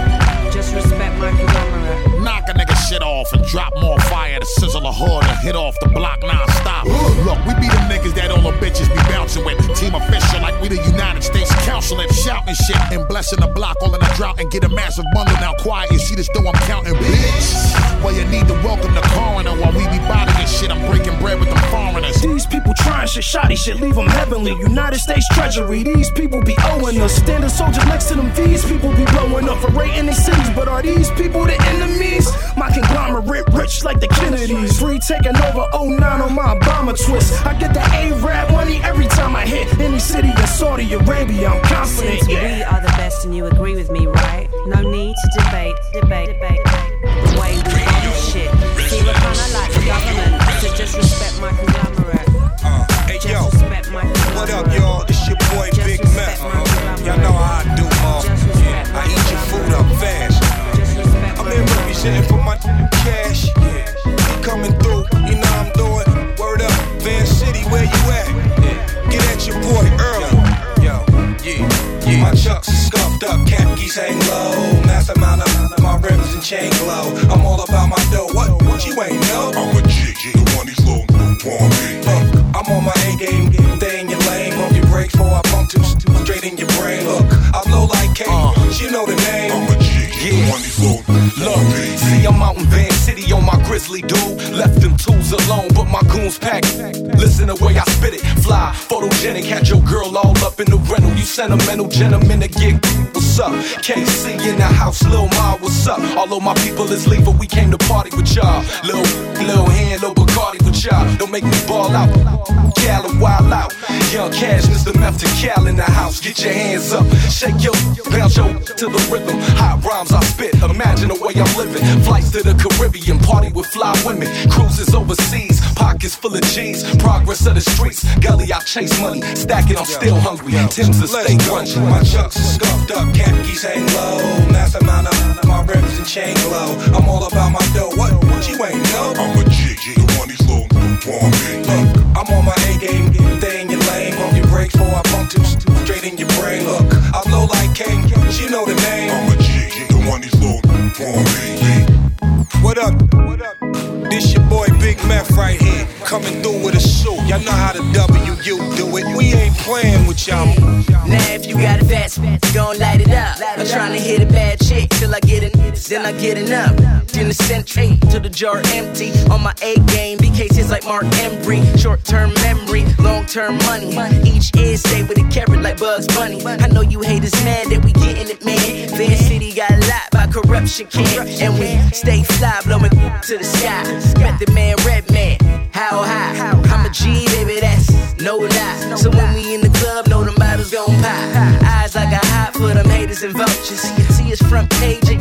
Just respect my conglomerate. Knock a nigga shit off and drop more fire to sizzle a hood and hit off the block non-stop. Look, we be them niggas that all the bitches be bouncing with. Team official like we the United States Council and shouting shit and blessing the block all in a drought and get a massive bundle. Now quiet, you see this though I'm counting, bitch. Well, you need to welcome the coroner while we be bodying shit. I'm breaking bread with them foreigners. These people trying shit, shoddy shit, leave them heavenly. United States Treasury, these people be owing us. Standing soldiers next to them, these people be blowing up for raiding their cities. But are these people the enemies? My conglomerate rich like the Kennedys. Free taking over oh nine on my Obama twist. I get the A-Rap money every time I hit any city in Saudi Arabia. I'm confident, Since yeah. we are the best and you agree with me, right? No need to debate, debate, debate. The way we bomb shit. See, we're kinda like the government, so just respect my conglomerate. Uh, hey Just yo, respect my conglomerate. what up, y'all? This your boy Just Big respect Mac. my conglomerate. Y'all know how I do, ma. Just respect my I eat your food up fast. Just respect I'm my here representing for my cash. Coming through, you know I'm doing. Word up, Van City, where you at? Get at your boy early. Yo, yeah, yeah. My chucks are scuffed up, cap keys hang low. Massive amount of my rims and chain glow. I'm all about my dough. What? What you ain't know? I'm a G, G, the one these little want me. Look, I'm on my A game, stay in your lane. Pump your brakes before I pump two straight in your brain. Look, I blow like K, uh, you know the name. I'm a G, the one these little Look, see I'm out in Van City on my grizzly dude. Left them tools alone, but my goons packed. Listen the way I spit it, fly, photogenic. Had your girl all up in the rental. You sentimental gentlemen to get what's up. K C in the house, Lil Ma, what's up? Although my people is leaving, we came to party with y'all. Lil, Lil Hand, Lil Bacardi with y'all. Don't make me ball out, Cal and wild out. Young Cash, Mister Meth to Cal in the house. Get your hands up, shake your, bounce your to the rhythm. Hot rhymes I spit, imagine the way I'm living. Flights to the Caribbean, party with fly women. Cruises overseas, pockets full of G's. Progress of the streets, gully I chase money. Stacking, I'm still hungry. Tim's to stay grungy. My chucks are scuffed up, cap keys hang low. Massive amount of my rims and chain glow. I'm all about my dough. What? What you ain't know? I'm a G, G, the one these little want me. Look, I'm on my A game, stay in your lane. Pump your brakes before I pump two straight in your brain. Look, I blow like King, you know the name. I'm a G, G, the one these little want me. What up? What up? This your boy Big Meth right here, coming through with a suit. Y'all know how the W U do it. We ain't playing with y'all. Now if you got a fat spit, gon' light it up. I'm trying to hit a bad chick till I get it, then I get enough. Then the century to the jar empty. On my A game, B K Cs like Mark Embry. Short-term memory, long-term money. Each is stay with a carrot like Bugs Bunny. I know you haters mad that we getting it, man. Van City got a lot by corruption can, and we stay fly, blowing to the sky. Met the man, Red Man, how high? I'm a G, baby, that's no lie. So when we in the club, know them bottles gon' pop. Eyes like a hot for them haters and vultures. See us front page of your can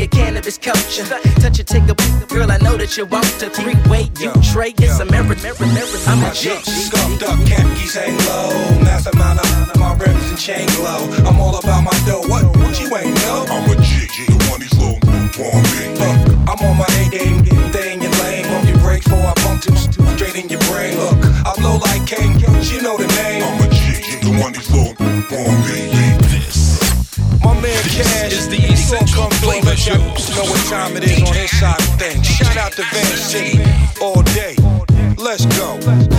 is culture. Touch it, take a girl, I know that you want to. Three-way, you trade, it's a merit, merit, merit. I'm a G. Scuffed up, khakis hang low. Massive amount of my rims and chain glow. I'm all about my dough. What? What you ain't know? I'm a G, the one these little want me. Look, I'm on my A game, stay in your lane. Bump your brakes before I bump two straight in your brain. Look, I blow like King, you know the name. I'm a G, the one these little want me. My man Cash is the essential flavor show. Know what time it is on his side of things. Shout out to Van City all day. Let's go.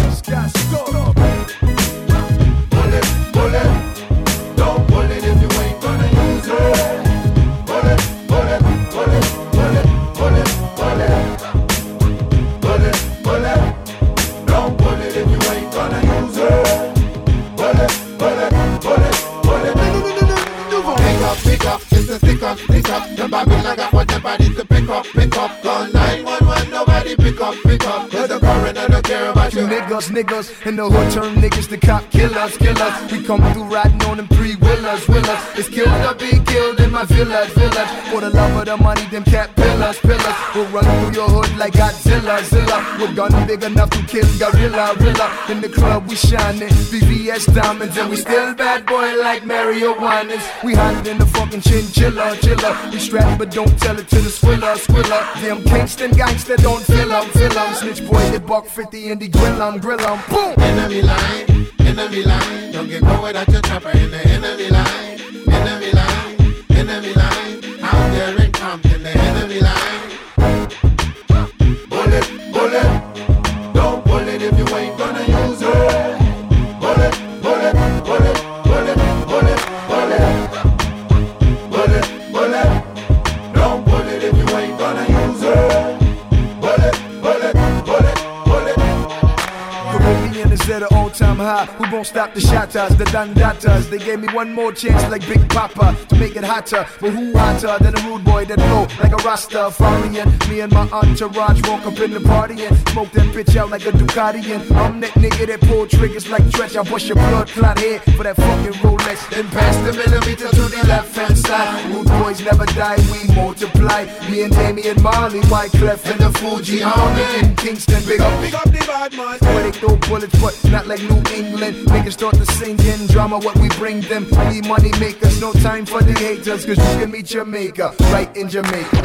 Bullet, bullet, don't pull it if you ain't gonna use it. Bullet, bullet, bullet, bullet, bullet, bullet, bullet, bullet, don't pull it if you ain't gonna use it. Bullet, bullet, bullet, bullet. Pick up, pick up, it's a stick up, stick up. The Babylon got what the body's to pick up, pick up. Call nine one one, nobody pick up, pick up. Cause the coroner don't care about you. Niggas, niggas, in the hood turn niggas to cop killers, killers. We come through riding on them three wheelers, wheelers. It's killed or be killed in my village, village. For the love of the money, them cat pillars, pillars. We'll run through your hood like Godzilla, Zilla. With gun big enough to kill gorilla, gorilla. In the club we shining, V V S diamonds, and we still bad boy like Mario Winans. We hotter than the fucking chinchilla, chilla. We strapped but don't tell it to the squilla, squilla. Them Kingston gangster don't fill 'em, fill 'em. Snitch boy, they buck fifty and they grill 'em, grill 'em. Boom! Enemy line, enemy line. Don't get caught without your chopper in the enemy line. Enemy line, enemy line. Out there in Compton, the enemy line. Bullet, bullet. Don't pull it if you ain't gonna use it. Bullet, bullet, bullet, bullet, bullet, bullet. Bullet, bullet. Don't pull it if you ain't gonna use it. Bullet, bullet, bullet, bullet. Caribbean is at an all-time high. Who won't stop the shotters, the dandatas? They gave me one more chance like Big Papa to make it hotter. But who hotter than a rude boy that blow like a Rastafarian? Me and my entourage walk up in the party and smoke that bitch out like a Ducati. And I'm that nigga that pull triggers like Tretch. I bust your blood clot head for that fucking Rolex. Then pass the millimeter to the left hand side. Rude boys never die, we multiply. Me and Damian Marley, Wyclef and the Fuji Army in Kingston. Big up, big up the bad man. Where they throw bullets, but not like New England. Niggas start to sing in drama, what we bring them. We money makers, no time for the haters. Cause you can meet Jamaica, right in Jamaica.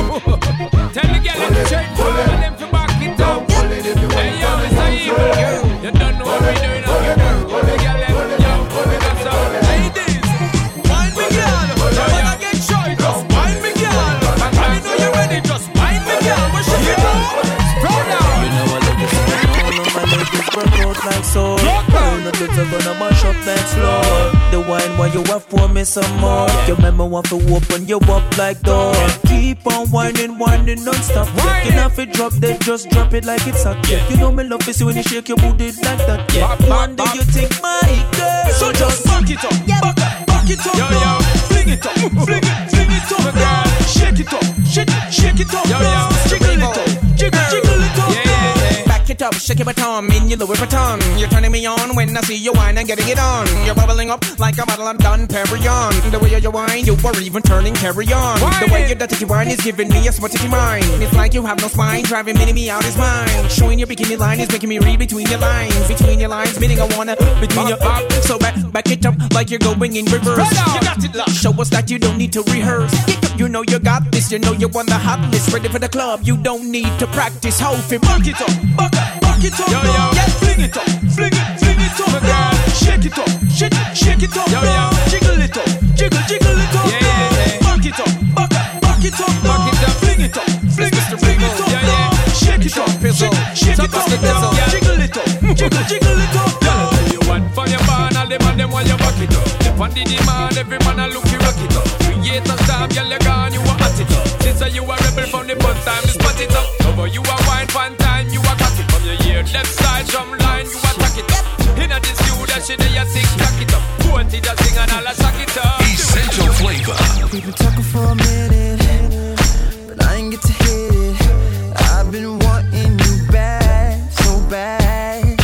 Tell the girl them straight forward and them to back it up. Hey yo, Mister Evil, you don't know what we doing now. You know, the girl them, yo, we got some ladies. Wine me girl, you wanna get shy, just wine me girl. And I know you're ready, just wine me girl. What should you do? Spread out. You know I like to see all of my ladies work out like so. The kids are gonna mash up that floor. The wine while you want for me some more. Your mama want to open you up like door. Keep on whining, whining non-stop. You know if it drop, then just drop it like it's hot. Yeah. You know me love is when you shake your booty like that. Yeah. One day you take my girl. So just back it up, back up, back it up, yo, yo. Fling it up, fling it, fling it up, girl. Shake it up, shake it, shake it up, yo, yo. Jiggle it up, jiggle, jiggle it up, yeah, yeah. Back it up, shake it baton, in your Louis Vuitton. You're turning me on when I see you whine and getting it on. You're bubbling up like a bottle of Don Perignon. The way you whine, you were even turning carry on. The way you dirty wine is giving me a smutty mind. It's like you have no spine, driving me, me out his mind. Showing your bikini line is making me read between your lines. Between your lines, meaning I wanna between your up. So back, back it up like you're going in reverse. You got it, love. Show us that you don't need to rehearse. You know you got this, you know you're on the hot list. Ready for the club, you don't need to practice. How if back it up, back up, back it up, yo, yo. Yeah, fling it up, fling it, fling it up, girl. Shake it up, shake it, shake it up, yo, yo. Jiggle it up, jiggle, jiggle it up, yeah, yeah, yeah. Back it up, back up, back it up, back it up, fling it up, fling it, fling it up, yeah, yeah. Shake it up, shake, shake it up, girl. Jiggle it up, jiggle, jiggle it up, yo. You want for your man, all the man them want you back it up. If on the demand, every man a look you rock it up. Create a star, girl you gone, you a hot it up. Since you a rebel from the bus time, you spot it up. Over you a wine, fan time, you a cock it. From your ear, left side, drum line, you attack it up. Inna this you that shit, they a sing, tack it up. Twenty that sing and all a sack it up. Essential flavor. We've been talking for a minute, but I ain't get to hit it. I've been wanting you back, so bad.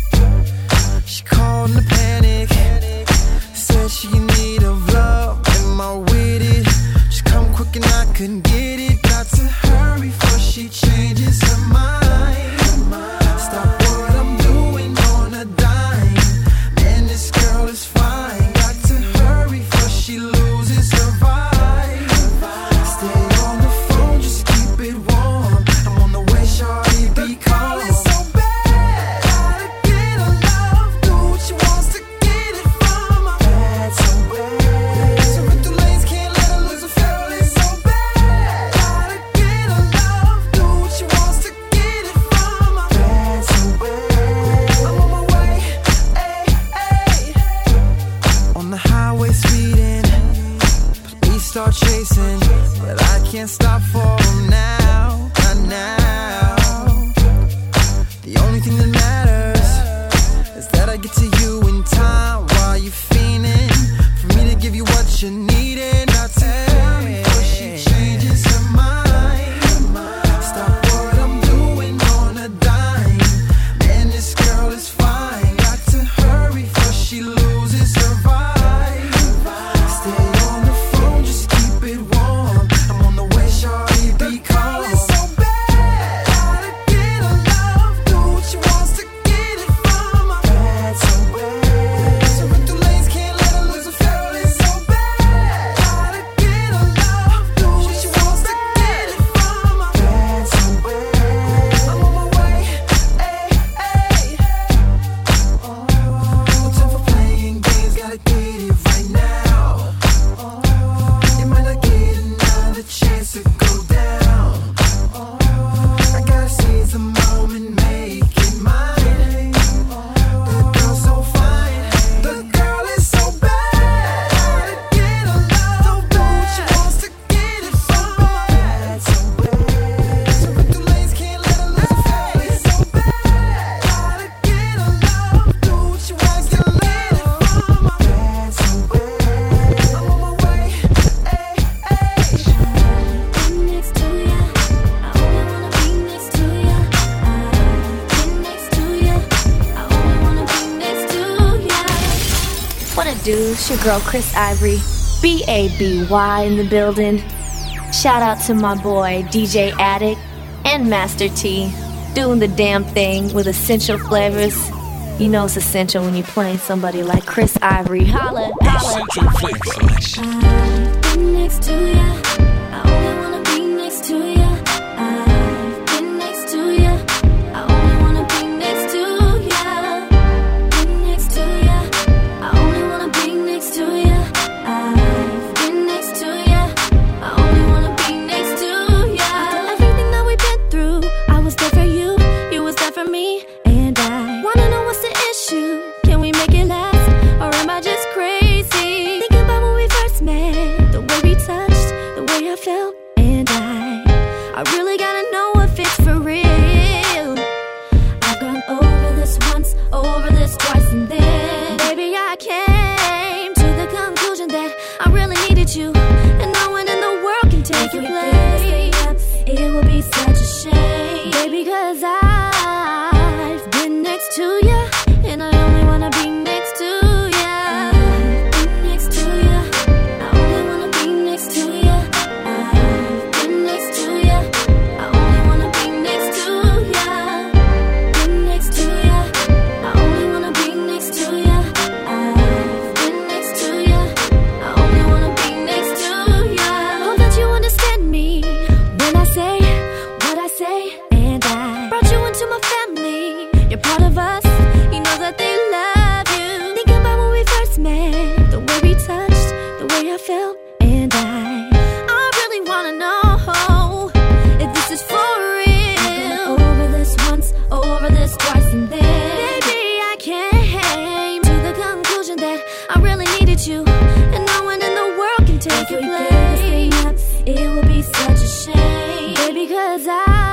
She called in a panic, said she need of love. Am I with it? She come quick and I couldn't get it. chooses her vibe. Stay on the phone, just keep it warm. I'm on the way, shawty, be calm. It's so bad, gotta get her love. Do what she wants to get it from her. Bad, so bad. So with the lanes, can't let her lose her feel. It's so bad, gotta get her love. Do what she wants to get it from her. Bad, so bad. I'm on my way, ay, ay. On the highway speeding, police start chasing, but I can't stop for them now, not now. The only thing that matters is that I get to you in time while you fiending for me to give you what you needed. Not to hurry before she changes her mind. Stop what I'm doing on a dime. Man, this girl is fine. Got to hurry before she loses her vibe. Stay on the phone, just keep it warm. I'm on the way, shawty, be calm. It's so bad, gotta get her love. Do what she wants to get it from her. Bad, so bad. So with the lanes, can't let her lose her feel. It's so bad, gotta get her love. Do what she wants to get it from her. Bad, so bad. I'm on my way, ay, ay. No time for playing games, gotta get it right now. You might not get another chance to go down. I gotta seize the moment, make it mine. The girl's so fine, the girl is so bad. Gotta get her love, do what she wants to get it from her. Bad, so bad. So with the lanes, can't let her lose her feel. It's so bad, gotta get her love, do what she wants to let it from her. Bad, so bad. I'm on my way, ay, ay. Next to ya, I only wanna be next to ya. I've been next to ya, I only wanna be next to ya. What it do? It's your girl Chris Ivory, B A B Y in the building. Shout out to my boy D J Addict and Master T, doing the damn thing with essential flavors. You know it's essential when you're playing somebody like Chris Ivory. Holla, holla. Essential flavor. I've been next to ya, I only wanna be next to ya. I've been next to ya, I only wanna be next to ya. Been next to ya, I only wanna be next to ya. I've been next to ya, I only wanna be next to ya. Everything that we've been through, I was there for you, you was there for me, and I wanna know what's the issue. Can we make it last, or am I just crazy? Thinking about when we first met, the way we touched, the way I felt, and I, I really gotta know if it's for real. I've gone over this once, over this twice, and then, baby, I came to the conclusion that I really needed you, and no one in the world can take your place. It would be such a shame, baby, cause I've been next to ya, and I only wanna be next to ya. I've been next to ya, I only wanna be next to ya. I've been next to ya, I only wanna be next to ya. Been next to ya, I only wanna be next to ya. I've been next to ya, I only wanna be next to ya. Hope that you understand me when I say what I say, and I brought you into my family. You're part of us, you know that they love you. Think about when we first met, the way we touched, the way I felt, and I, I really wanna know if this is for real. Over this once, over this twice, and then, baby, I came to the conclusion that I really needed you, and no one in the world can take your place. It would be such a shame, baby, cause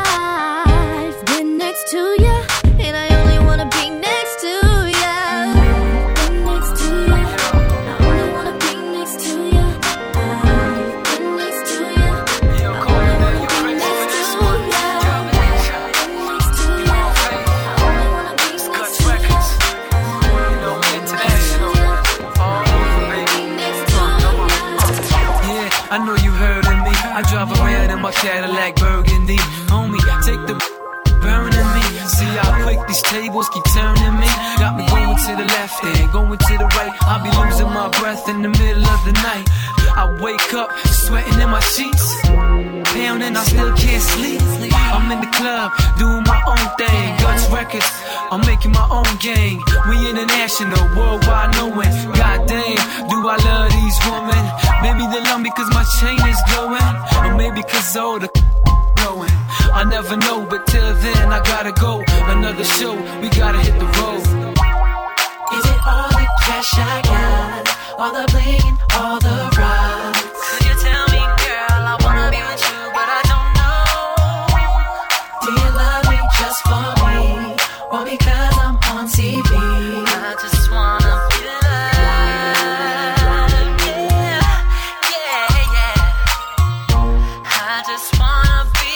I've been next to ya, and I only wanna be next to ya. I've been next to ya, I only wanna be next to ya. I've been next to ya, I only wanna be next to ya. I've been next to ya, I only wanna be next to ya. Yeah, I know you heard of me. I drive around in my Cadillac Burgundy. Homie, take the burning me. See how quick these tables keep turning me. Got me going to the left and going to the right. I'll be losing my breath in the middle of the night. I wake up sweating in my sheets, pounding, I still can't sleep. I'm in the club doing my own thing. Guts Records, I'm making my own gang. We international, worldwide knowing. Goddamn, do I love these women? Maybe they love me cause my chain is glowing, or maybe cause all the blowing. I never know, but till then I gotta go. Another show, we gotta hit the road. Is it all the cash I got? All the bling, all the rocks? Could you tell me, girl, I wanna be with you, but I don't know. Do you love me just for me, or because I'm on T V? I just wanna be loved, yeah, yeah, yeah. I just wanna be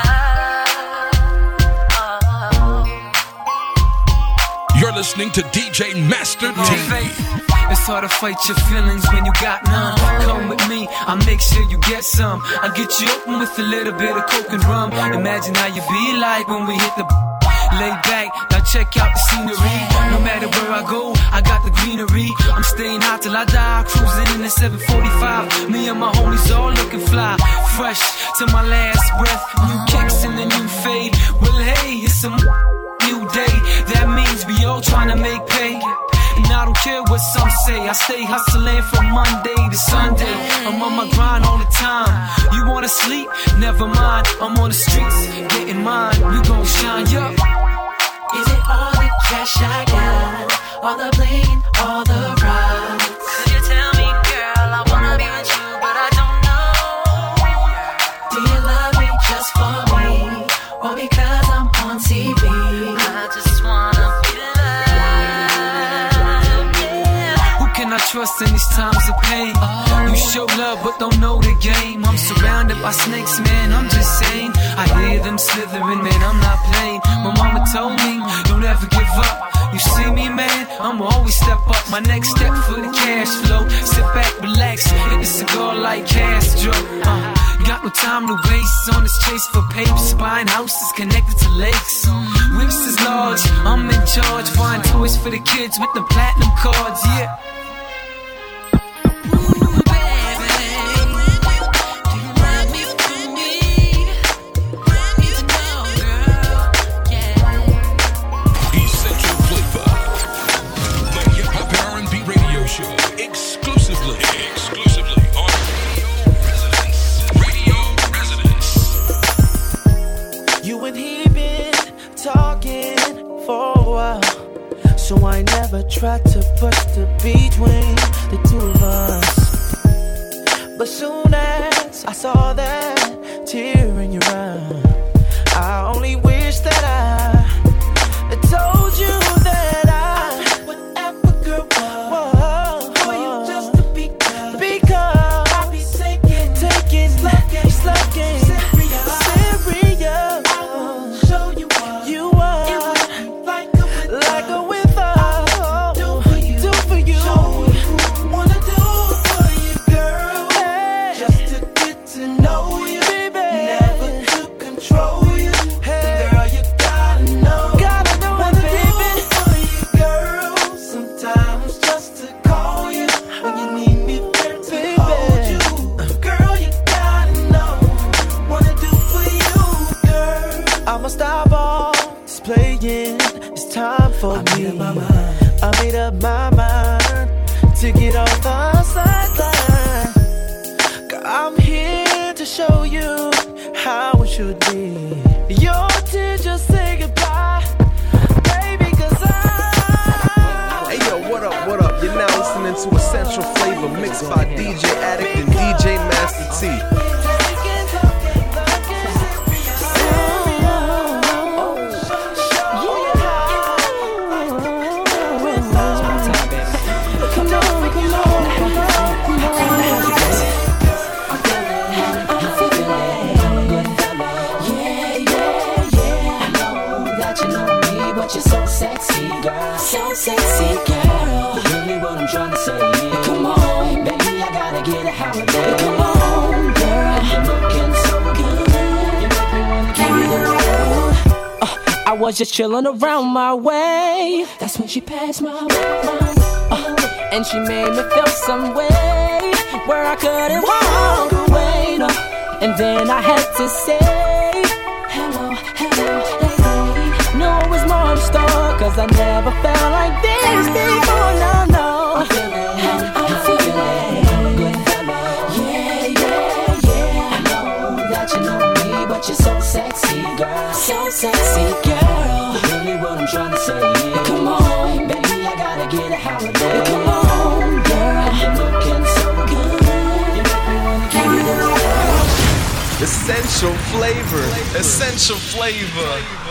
loved. Oh. You're listening to D J Master T. It's hard to fight your feelings when you got none. Come with me, I'll make sure you get some. I'll get you open with a little bit of coke and rum. Imagine how you be like when we hit the lay back, now check out the scenery. No matter where I go, I got the greenery. I'm staying hot till I die, cruising in the seven forty-five. Me and my homies all looking fly, fresh to my last breath. New kicks and a new fade. Well, hey, it's a new day. That means we all trying to make pay. And I don't care what some say, I stay hustling from Monday to Sunday. I'm on my grind all the time. You wanna sleep? Never mind, I'm on the streets, getting mine. We gon' shine, yo. Is it all the cash I got? All the bling, all the rocks? Could you tell me, girl, I wanna be with you, but I don't know. Do you love me just for me, or because I'm on T V? I just wanna be loved, yeah. Who can I trust in these times of pain? You show love but don't know the game. I'm surrounded by snakes, man, I'm just saying. I hear them slithering, man, I'm not playing. My mama told me, don't ever give up. You see me, man, I'ma always step up. My next step for the cash flow. Sit back, relax, hit the cigar like Castro. uh, Got no time to waste on this chase for papers. Buying houses connected to lakes. Whips is large, I'm in charge. Buying toys for the kids with the platinum cards, yeah. Exclusively, exclusively on Radio Residence. Radio Residence. You and he been talking for a while, so I never tried to push the between the two of us. But soon as I saw that tear in your eye, I only wish that I had told you that I whatever girl was. For me, I made up my mind to get off the sideline. I'm here to show you how it should be. Your tears just say goodbye, baby, cause I. Hey yo, what up, what up? You're now listening to Essential Flavor mixed by D J Addict and D J Master T. Sexy girl, really what I'm trying to say is, come on, baby, I gotta get a holiday. Come on, girl, you're looking so good, you make me wanna give you the world. uh, I was just chilling around my way, that's when she passed my way, uh, and she made me feel some way. where I couldn't walk away, no. And then I had to say, hello, hello, lady. No, it was more in store, cause I never felt like this before, no, no. I'm feeling, I'm feeling good, hello. Yeah, yeah, yeah. I know that you know me, but you're so sexy, girl. So sexy, girl. Really what I'm trying to say, yeah. Come on, baby, I gotta get a holiday. Come on, girl, you're looking so good. You make me wanna keep it. Essential flavor, essential flavor.